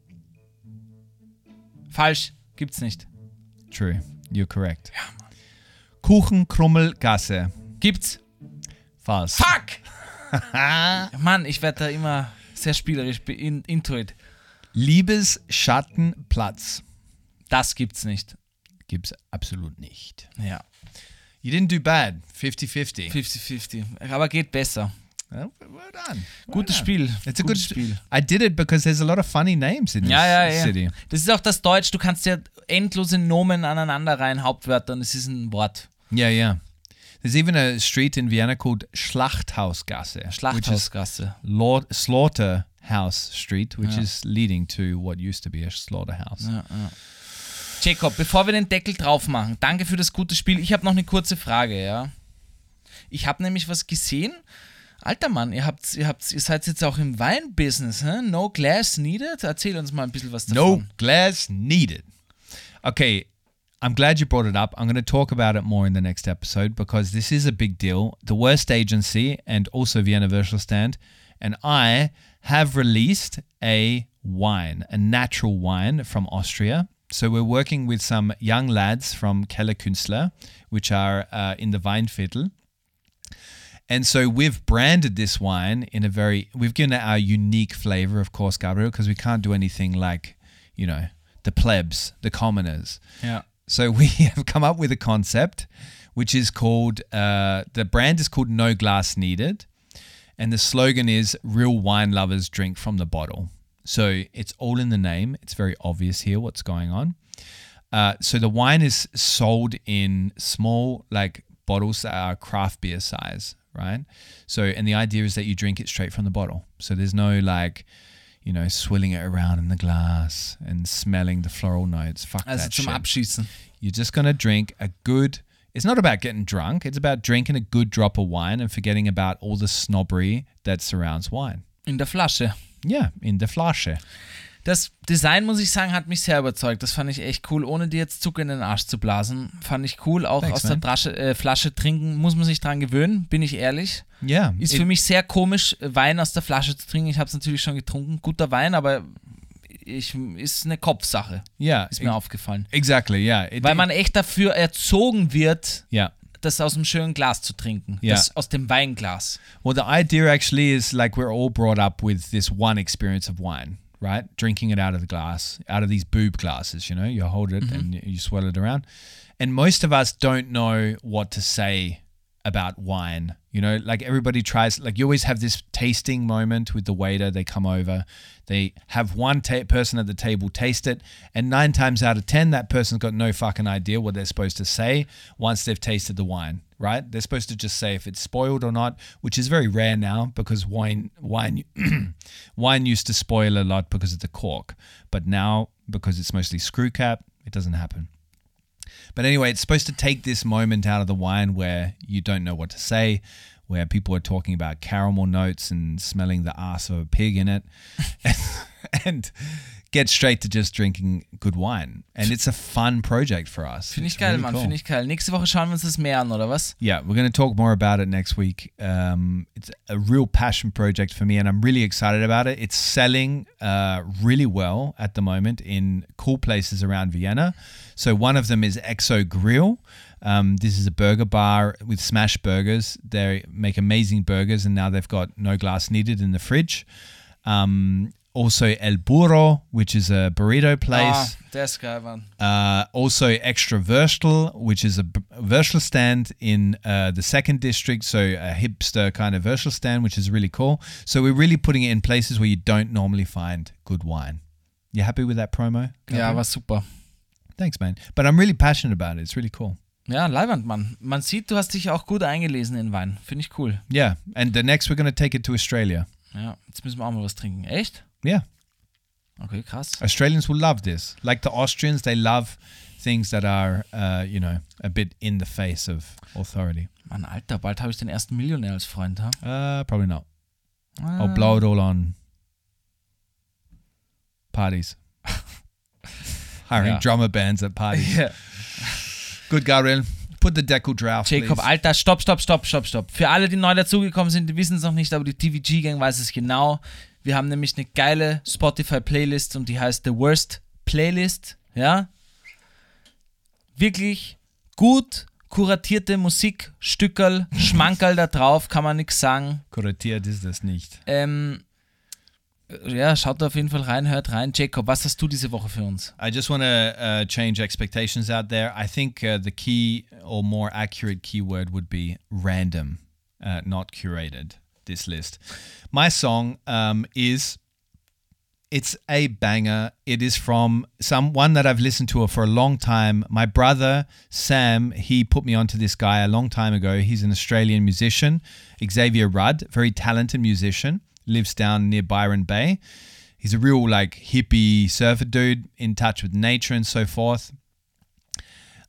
Falsch. Gibt's nicht. True. You're correct. Kuchenkrummelgasse. Gibt's. False. Fuck! Mann, ich werde da immer sehr spielerisch into it. Liebesschattenplatz. Das gibt's nicht. Gibt's absolut nicht. Ja. You didn't do bad. 50-50. 50-50. Aber geht besser. Well done. Gutes Spiel. It's a good Gutes Spiel. I did it because there's a lot of funny names in this Ja. city. Das ist auch das Deutsch. Du kannst ja endlose Nomen aneinander rein, Hauptwörter, und es ist ein Wort. Yeah. There's even a street in Vienna called Schlachthausgasse. Schlachthausgasse. Which is Slaughterhouse Street, which Ja. is leading to what used to be a slaughterhouse. Ja. Jacob, bevor wir den Deckel drauf machen, danke für das gute Spiel. Ich habe noch eine kurze Frage, ja. Ich habe nämlich was gesehen Alter Mann, ihr seid jetzt auch im Weinbusiness, hä? No glass needed? Erzähl uns mal ein bisschen was davon. No glass needed. Okay, I'm glad you brought it up. I'm going to talk about it more in the next episode because this is a big deal. The Worst Agency and also Vienna Würstelstand and I have released a wine, a natural wine from Austria. So we're working with some young lads from Keller Künstler, which are in the Weinviertel. And so we've branded this wine we've given it our unique flavor, of course, Gabriel, because we can't do anything like, the plebs, the commoners. Yeah. So we have come up with a concept, which is called, the brand is called No Glass Needed. And the slogan is, real wine lovers drink from the bottle. So it's all in the name. It's very obvious here what's going on. So the wine is sold in small, bottles that are craft beer size, right? So, and the idea is that you drink it straight from the bottle. So there's no swilling it around in the glass and smelling the floral notes. Fuck that zum shit. Abschießen. You're just going to drink it's not about getting drunk. It's about drinking a good drop of wine and forgetting about all the snobbery that surrounds wine. In der Flasche. Ja, in der Flasche. Das Design, muss ich sagen, hat mich sehr überzeugt. Das fand ich echt cool, ohne dir jetzt Zucker in den Arsch zu blasen. Fand ich cool. Auch Thanks, aus der Flasche trinken muss man sich dran gewöhnen, bin ich ehrlich. Ja. Ist für mich sehr komisch, Wein aus der Flasche zu trinken. Ich habe es natürlich schon getrunken. Guter Wein, aber ist eine Kopfsache. Ja. Ist mir aufgefallen. Exactly, yeah. Weil man echt dafür erzogen wird, Yeah. das aus dem schönen Glas zu trinken. Ja. Das aus dem Weinglas. Well, the idea actually is we're all brought up with this one experience of wine, right? Drinking it out of the glass, out of these boob glasses, you hold it and you swirl it around. And most of us don't know what to say about wine. Everybody tries, you always have this tasting moment with the waiter. They come over, they have one person at the table taste it, and 9 times out of 10, that person's got no fucking idea what they're supposed to say once they've tasted the wine, right? They're supposed to just say if it's spoiled or not, which is very rare now because wine used to spoil a lot because of the cork. But now, because it's mostly screw cap, it doesn't happen. But anyway, it's supposed to take this moment out of the wine where you don't know what to say, where people are talking about caramel notes and smelling the ass of a pig in it, and get straight to just drinking good wine. And it's a fun project for us. Finde ich It's geil, really Mann. cool. Finde ich geil. Nächste Woche schauen wir uns das mehr an, oder was? Yeah, we're going to talk more about it next week. It's a real passion project for me, and I'm really excited about it. It's selling really well at the moment in cool places around Vienna. So one of them is Exo Grill. This is a burger bar with smash burgers. They make amazing burgers, and now they've got no glass needed in the fridge. Also El Burro, which is a burrito place. Der ist geil, Mann. Also Extra Würstel, which is a Würstel stand in the second district, so a hipster kind of Würstel stand, which is really cool. So we're really putting it in places where you don't normally find good wine. You happy with that promo? Ja, war super. Thanks, man. But I'm really passionate about it. It's really cool. Ja, Leiwand, Mann. Man sieht, du hast dich auch gut eingelesen in Wein. Finde ich cool. Yeah, and the next we're going to take it to Australia. Ja, jetzt müssen wir auch mal was trinken. Echt? Yeah. Okay, krass. Australians will love this. Like the Austrians, they love things that are, a bit in the face of authority. Mann, Alter, bald habe ich den ersten Millionär als Freund, ha? Probably not. I'll blow it all on parties. Hiring Ja. drummer bands at parties. Ja. Good, Gabriel. Put the Deckel draft, Jacob, please. Alter, stopp. Für alle, die neu dazugekommen sind, die wissen es noch nicht, aber die TVG-Gang weiß es genau. Wir haben nämlich eine geile Spotify-Playlist und die heißt The Worst Playlist, ja? Wirklich gut kuratierte Musik, Stückerl, Schmankerl da drauf, kann man nichts sagen. Kuratiert ist das nicht. Ja, schaut da auf jeden Fall rein, hört rein. Jacob, was hast du diese Woche für uns? I just want to change expectations out there. I think the key or more accurate keyword would be random, not curated, this list. My song it's a banger. It is from one that I've listened to for a long time. My brother, Sam, he put me onto this guy a long time ago. He's an Australian musician, Xavier Rudd, very talented musician. Lives down near Byron Bay. He's a real hippie surfer dude in touch with nature and so forth.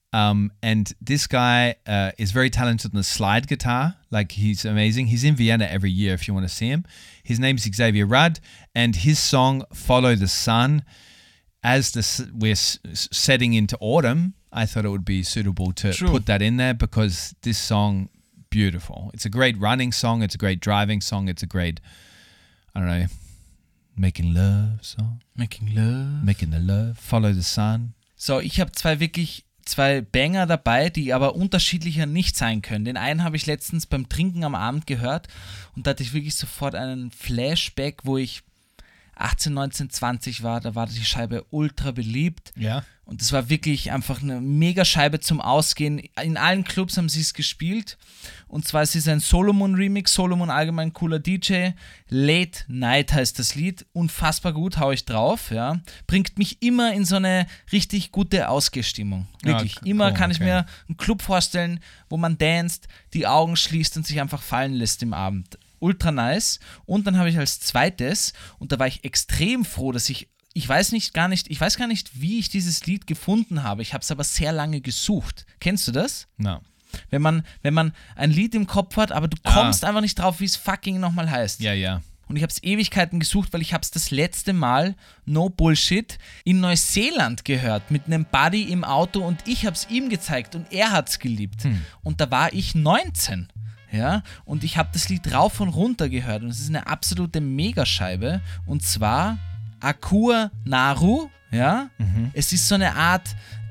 And this guy is very talented on the slide guitar. Like, he's amazing. He's in Vienna every year if you want to see him. His name's Xavier Rudd, and his song Follow the Sun, as we're setting into autumn, I thought it would be suitable to put that in there, because this song, beautiful. It's a great running song. It's a great driving song. It's a great, I don't know, making love song. Making love. Making the love. Follow the sun. So, ich habe zwei Banger dabei, die aber unterschiedlicher nicht sein können. Den einen habe ich letztens beim Trinken am Abend gehört und da hatte ich wirklich sofort einen Flashback, wo ich 18, 19, 20 war. Da war die Scheibe ultra beliebt. Ja. Und es war wirklich einfach eine mega Scheibe zum Ausgehen. In allen Clubs haben sie es gespielt. Und zwar ist es ein Solomon-Remix. Solomon, allgemein cooler DJ. Late Night heißt das Lied. Unfassbar gut, hau ich drauf. Ja. Bringt mich immer in so eine richtig gute Ausgehstimmung. Wirklich. Ja, immer cool, kann ich mir einen Club vorstellen, wo man danst, die Augen schließt und sich einfach fallen lässt im Abend. Ultra nice. Und dann habe ich als zweites, und da war ich extrem froh, dass ich weiß gar nicht, wie ich dieses Lied gefunden habe. Ich habe es aber sehr lange gesucht. Kennst du das? No. Wenn man ein Lied im Kopf hat, aber du kommst einfach nicht drauf, wie es fucking nochmal heißt. Ja, ja. Und ich habe es Ewigkeiten gesucht, weil ich habe es das letzte Mal, no Bullshit, in Neuseeland gehört, mit einem Buddy im Auto, und ich habe es ihm gezeigt und er hat es geliebt. Und da war ich 19. Ja, und ich habe das Lied rauf und runter gehört und es ist eine absolute Megascheibe, und zwar Akua Naru, ja, es ist so eine Art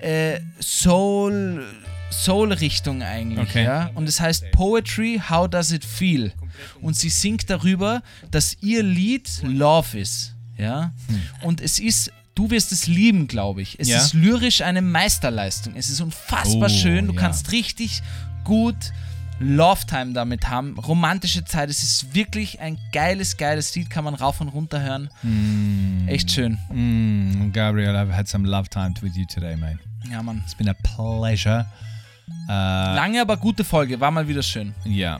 Soul-Richtung eigentlich, ja, und es heißt Poetry, How Does It Feel, und sie singt darüber, dass ihr Lied Love ist, ja, und es ist, du wirst es lieben, glaube ich, es ist lyrisch eine Meisterleistung, es ist unfassbar schön, du kannst richtig gut Love-Time damit haben, romantische Zeit, es ist wirklich ein geiles Lied, kann man rauf und runter hören. Echt schön. Gabriel, I've had some love time with you today, mate. Ja, Mann. It's been a pleasure. Lange, aber gute Folge, war mal wieder schön. Yeah.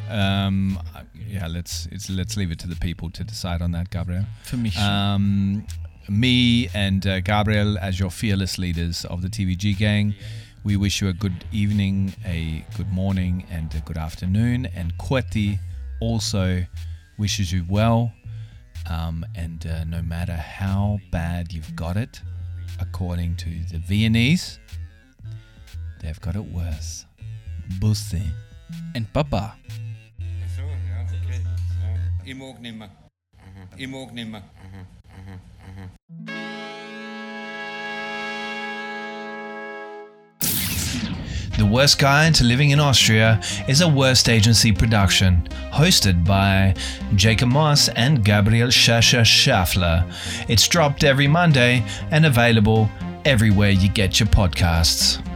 Let's leave it to the people to decide on that, Gabriel. Für mich. Me and Gabriel, as your fearless leaders of the TVG gang, we wish you a good evening, a good morning, and a good afternoon. And Kweti also wishes you well. And no matter how bad you've got it, according to the Viennese, they've got it worse. Bussi. And Baba. So, ja, okay. Ja. Ich mag nimmer. Ich mag nimmer. The Worst Guide to Living in Austria is a Worst Agency production, hosted by Jacob Moss and Gabriel Schaffler. It's dropped every Monday and available everywhere you get your podcasts.